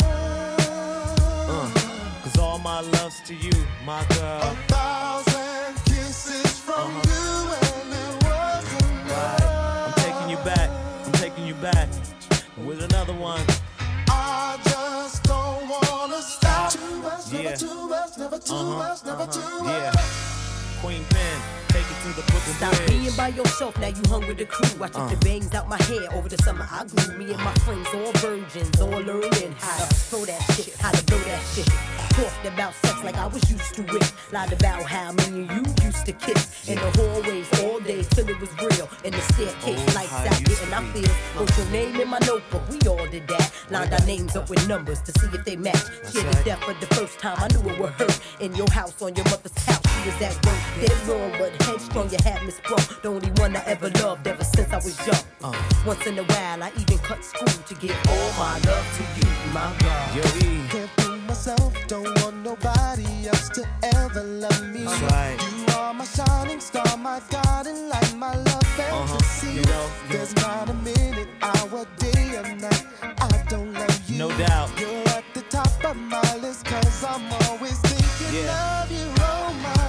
Cause all my love's to you, my girl. 1,000 kisses from you and it wasn't enough. I'm taking you back, I'm taking you back with another one. I just don't wanna stop. Too much, never too much, never too much, never too much. Queen Pen, take it to the Brooklyn Stop Bridge. being by yourself, now you hung with the crew. I took the bangs out my hair over the summer. I grew me and my friends, all virgins, all learning how to throw that shit, how to blow that shit. Talked about sex like I was used to it. Lied about how me and you used to kiss in the hallways all day till it was real. In the staircase, lights out, getting our feel. Wrote your name in my notebook, we all did that. Lined our names up with numbers to see if they match. Shared the death for the first time, I knew it would hurt. In your house, on your mother's couch, she was at work. Dead wrong, but headstrong, you had me sprung. The only one I ever loved ever since I was young. Once in a while, I even cut school to give all my love to you, my God. Can't fool myself, don't want nobody else to ever love me. You are my shining star, my God, and like my love fantasy. There's not a minute, hour, day, or night I don't love you. No doubt. You're at the top of my list, cause I'm always thinking of you, oh my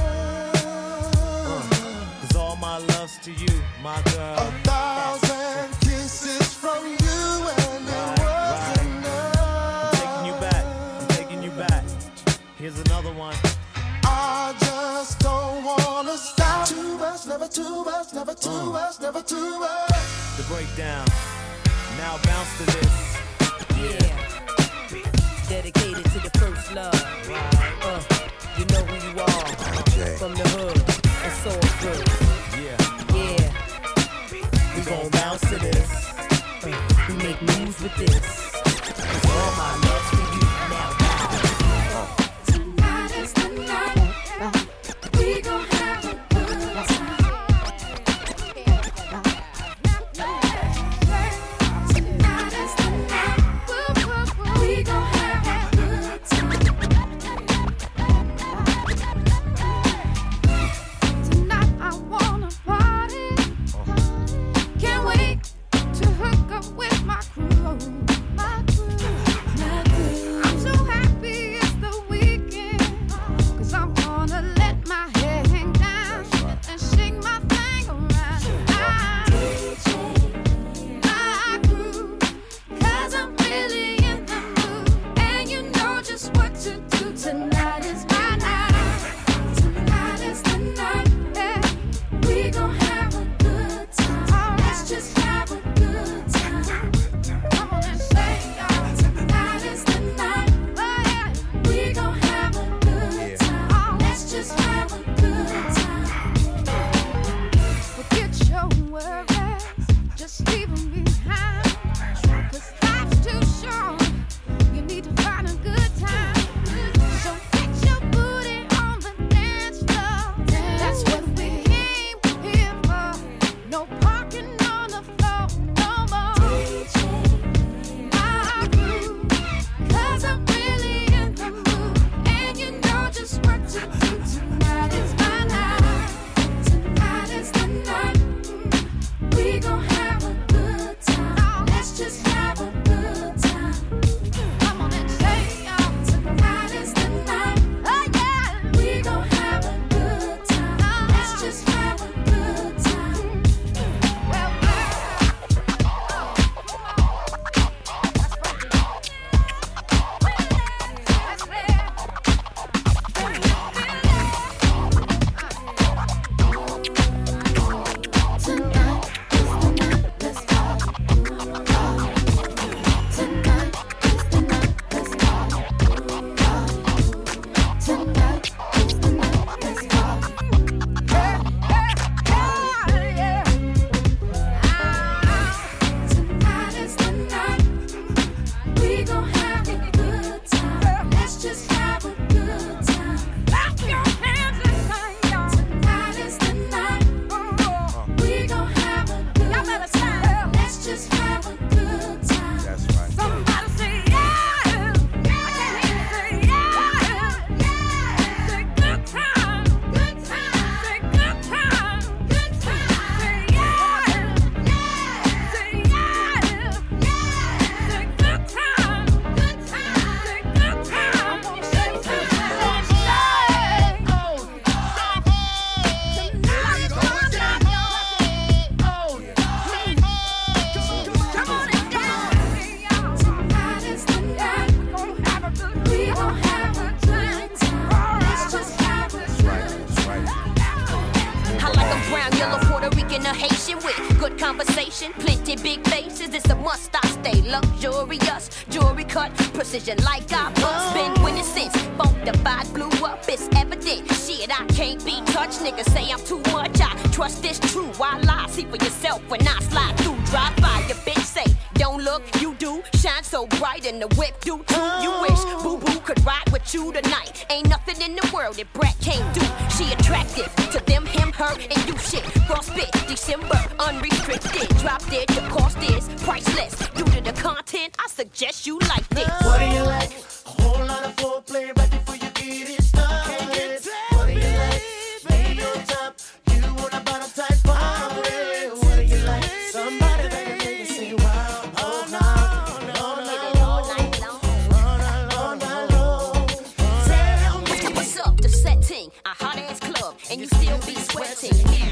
love. Cause all my love's to you, my girl. 1,000 kisses from you and it wasn't enough. I'm taking you back, I'm taking you back. Here's another one. I just don't wanna stop. Too much, never too much, never too much, never too much. The breakdown. Now bounce to this. Dedicated to the first love. You know who you are. From the hood. It's all good. We gon' bounce to this. We make moves with this. It's all my love for you now. Tonight is the night. We gon' have a good time. Tonight is the night. We gon' have a good time. Tonight I wanna party. Can't wait to hook up with my crew. My crew. conversation, plenty big faces. It's a must. I stay luxurious, jewelry cut, precision like I must. Been winning since Funkified blew up. It's evident. Shit, I can't be touched. Niggas say I'm too much. I trust this true. Why lie? See for yourself when I slide through. Drive by your bitch, say don't look, you do. Shine so bright in the whip, do too. You wish Boo Boo could ride with you tonight. Ain't nothing in the world that Brat can't do. She attractive to them, him, her, and you shit. Frostbit, December, unrestricted. Drop dead, the cost is priceless. Due to the content, I suggest you like this. What do you like? A whole lot of foreplay right before you get it started. What do you like? Lay on top. You want a bottom type party. What do you like? Somebody that can make you say wow. All night, all night long. All night long. Tell me what's up, the setting, a hot ass club, and you still be sweating.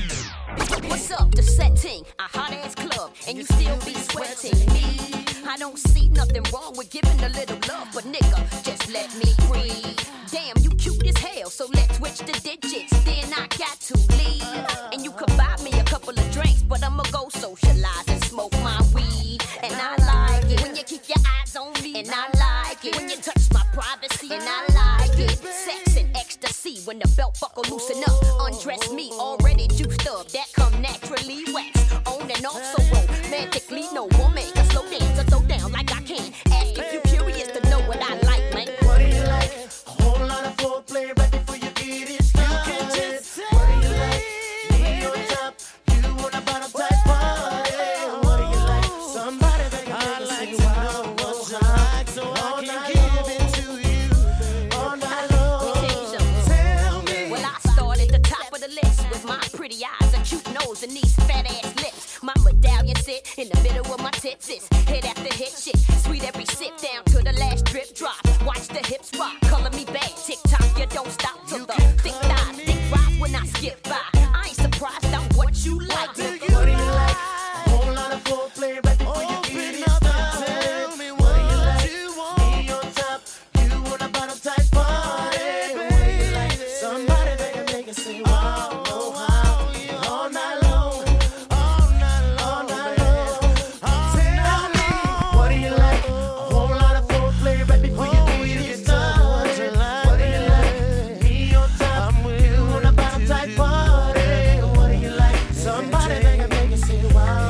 What's up, the setting, a hot ass club, and you still be sweating. I don't see nothing wrong with giving a little love, but nigga, just let me breathe. Damn, you cute as hell, so let's switch the digits. Then I got to leave, and you could buy me a couple of drinks, but I'ma go socialize and smoke my weed. And I like it when you keep your eyes on me, and I like it when you touch my privacy, and I like it. Sex and ecstasy when the belt buckle loosen up. Undress me, already juiced up, that come naturally wax. On and off so romantically, no woman can slow dance or throw down like I can. Ask if you curious to know what I like, man. What do you like? A whole lot of foreplay right before you get it started. What do you like? Lay on top. You want a bottom type party. What do you like? Somebody that can make you say wow. What's like so I can give it to you all night long. Tell me. Well, I start at the top of the list with my pretty eyes, a cute nose, and these fat ass lips. My medallion sit in the middle of my tits. It's hit after hit shit. Sweet every sip down to the last drip drop. Watch the hips rock, color me bad. Tick tock, you don't stop till the thick thighs, thick rise when I skip by. I ain't surprised, I'm what you like. Nigga. What do you like? A whole lot of foreplay right before you get it started. Tell me what do you like? Me on top. You want a bottom type party. What do you like? Somebody that can make it say wow. All night long. All night long. Tell me what do you like? A whole lot of foreplay right before you get it started. What do you like? Me on top. You want a bottom type party. What do you like? Somebody that can make it say wow.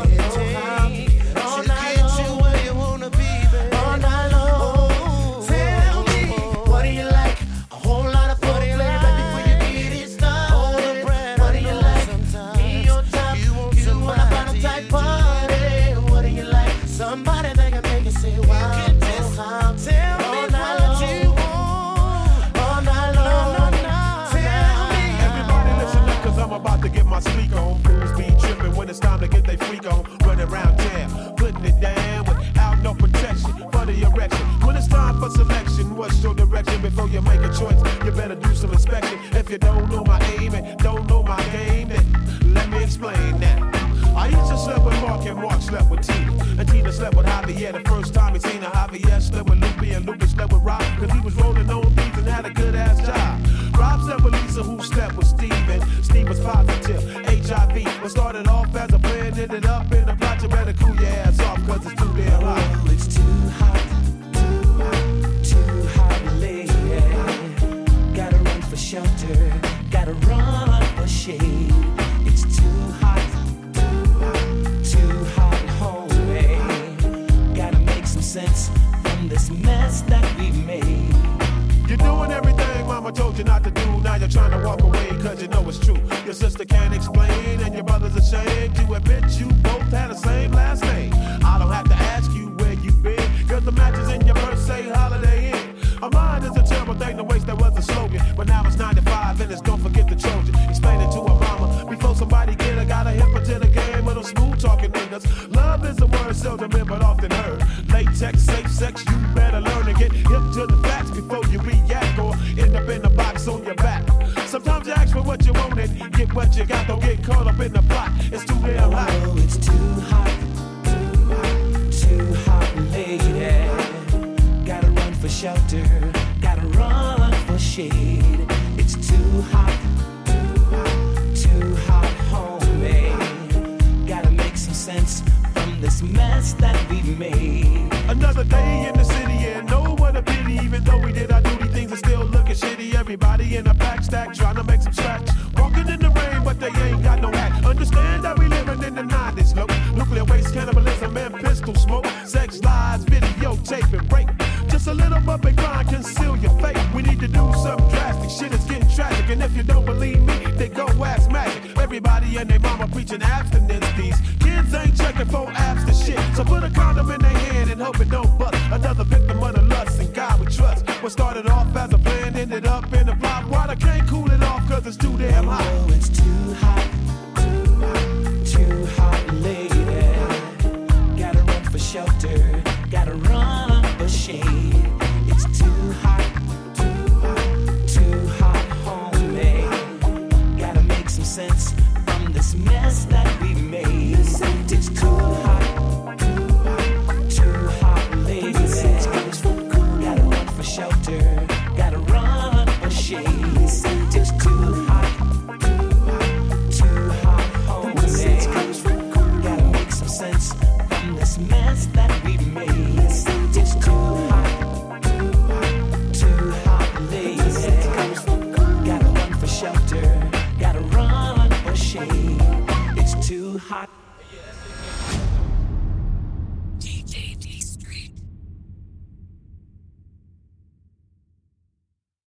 All night long. Where you wanna be, baby. All night long. Tell me what do you like? A whole lot of foreplay right before you get it started. What do you like? Me on top. You want a bottom type party. What do you like? Somebody that can make it say wow. Tell me what you want. All night long. Tell me. Everybody listen up, cause I'm about to get my sleek on. Fools be tripping when it's time to get they freak on. Running around town, putting it down without no protection for the erection. When it's time for selection, what's your direction? Before you make a choice, you better do some inspection. If you don't know my aim and don't know my game, then let me explain that. I used to sleep with Mark and Mark slept with Tina. And Tina slept with Javier the first time he seen her. Javier slept with Lupe and Lupe slept with Rob. Cause he was rolling on beats and had a good ass job. Rob slept with Lisa who slept with Steven. Steve was positive, HIV. What started off as a plan ended up in a plot. You better cool your ass off cause it's too damn hot. Oh, it's too hot, too hot, lady. Gotta run for shelter, gotta run for shade. It's too hot, home, gotta make some sense from this mess that we made. You're doing everything mama told you not to do. Now you're trying to walk away cause you know it's true. Your sister can't explain and your brother's ashamed to admit you both had the same last name. I don't have to ask you where you've been cause the matches in your purse say Holiday Inn. A mind is a terrible thing to waste, that was a slogan. But now it's 95 and it's don't forget the Trojan. Explain it to a mama before somebody get her. Gotta hip her to the game of them smooth talking niggas. Love is a word seldom been but often heard. Latex, safe sex, you better learn to get hip to the facts before you react or end up in the box on your back. Sometimes you ask for what you want and get what you got. Don't get caught up in the plot. It's too damn hot. Oh, it's too hot, lady. Gotta run for shelter, gotta run for shade. It's too hot, home, gotta make some sense from this mess that we made. Another day in the city and no what a pity. Even though we did our duty, things are still looking shitty. Everybody in a pack stack trying to make some scratch. Walking in the rain, but they ain't got no hat. Understand that we living in the 90s, low. Nuclear waste, cannibalism, and pistol smoke. Sex, lies, videotape, and rape. Just a little bump and grind, conceal your fate. We need to do something drastic. Shit is getting tragic. And if you don't believe me, then go ask Magic. Everybody and their mama preaching abstinence. These kids ain't checking for apps to shit. So put a condom in their hand and hope it don't bust. Another victim of the lust and God we trust. What started off as a plan ended up in a plot. Water can't cool it off cause it's too damn hot. Oh, it's too hot, too hot, too hot, lady. Gotta run for shelter, gotta run for shade. It's too hot, too hot, homie. Gotta make some sense from this mess that we made. It's too hot, too hot, lady. Gotta run for shelter.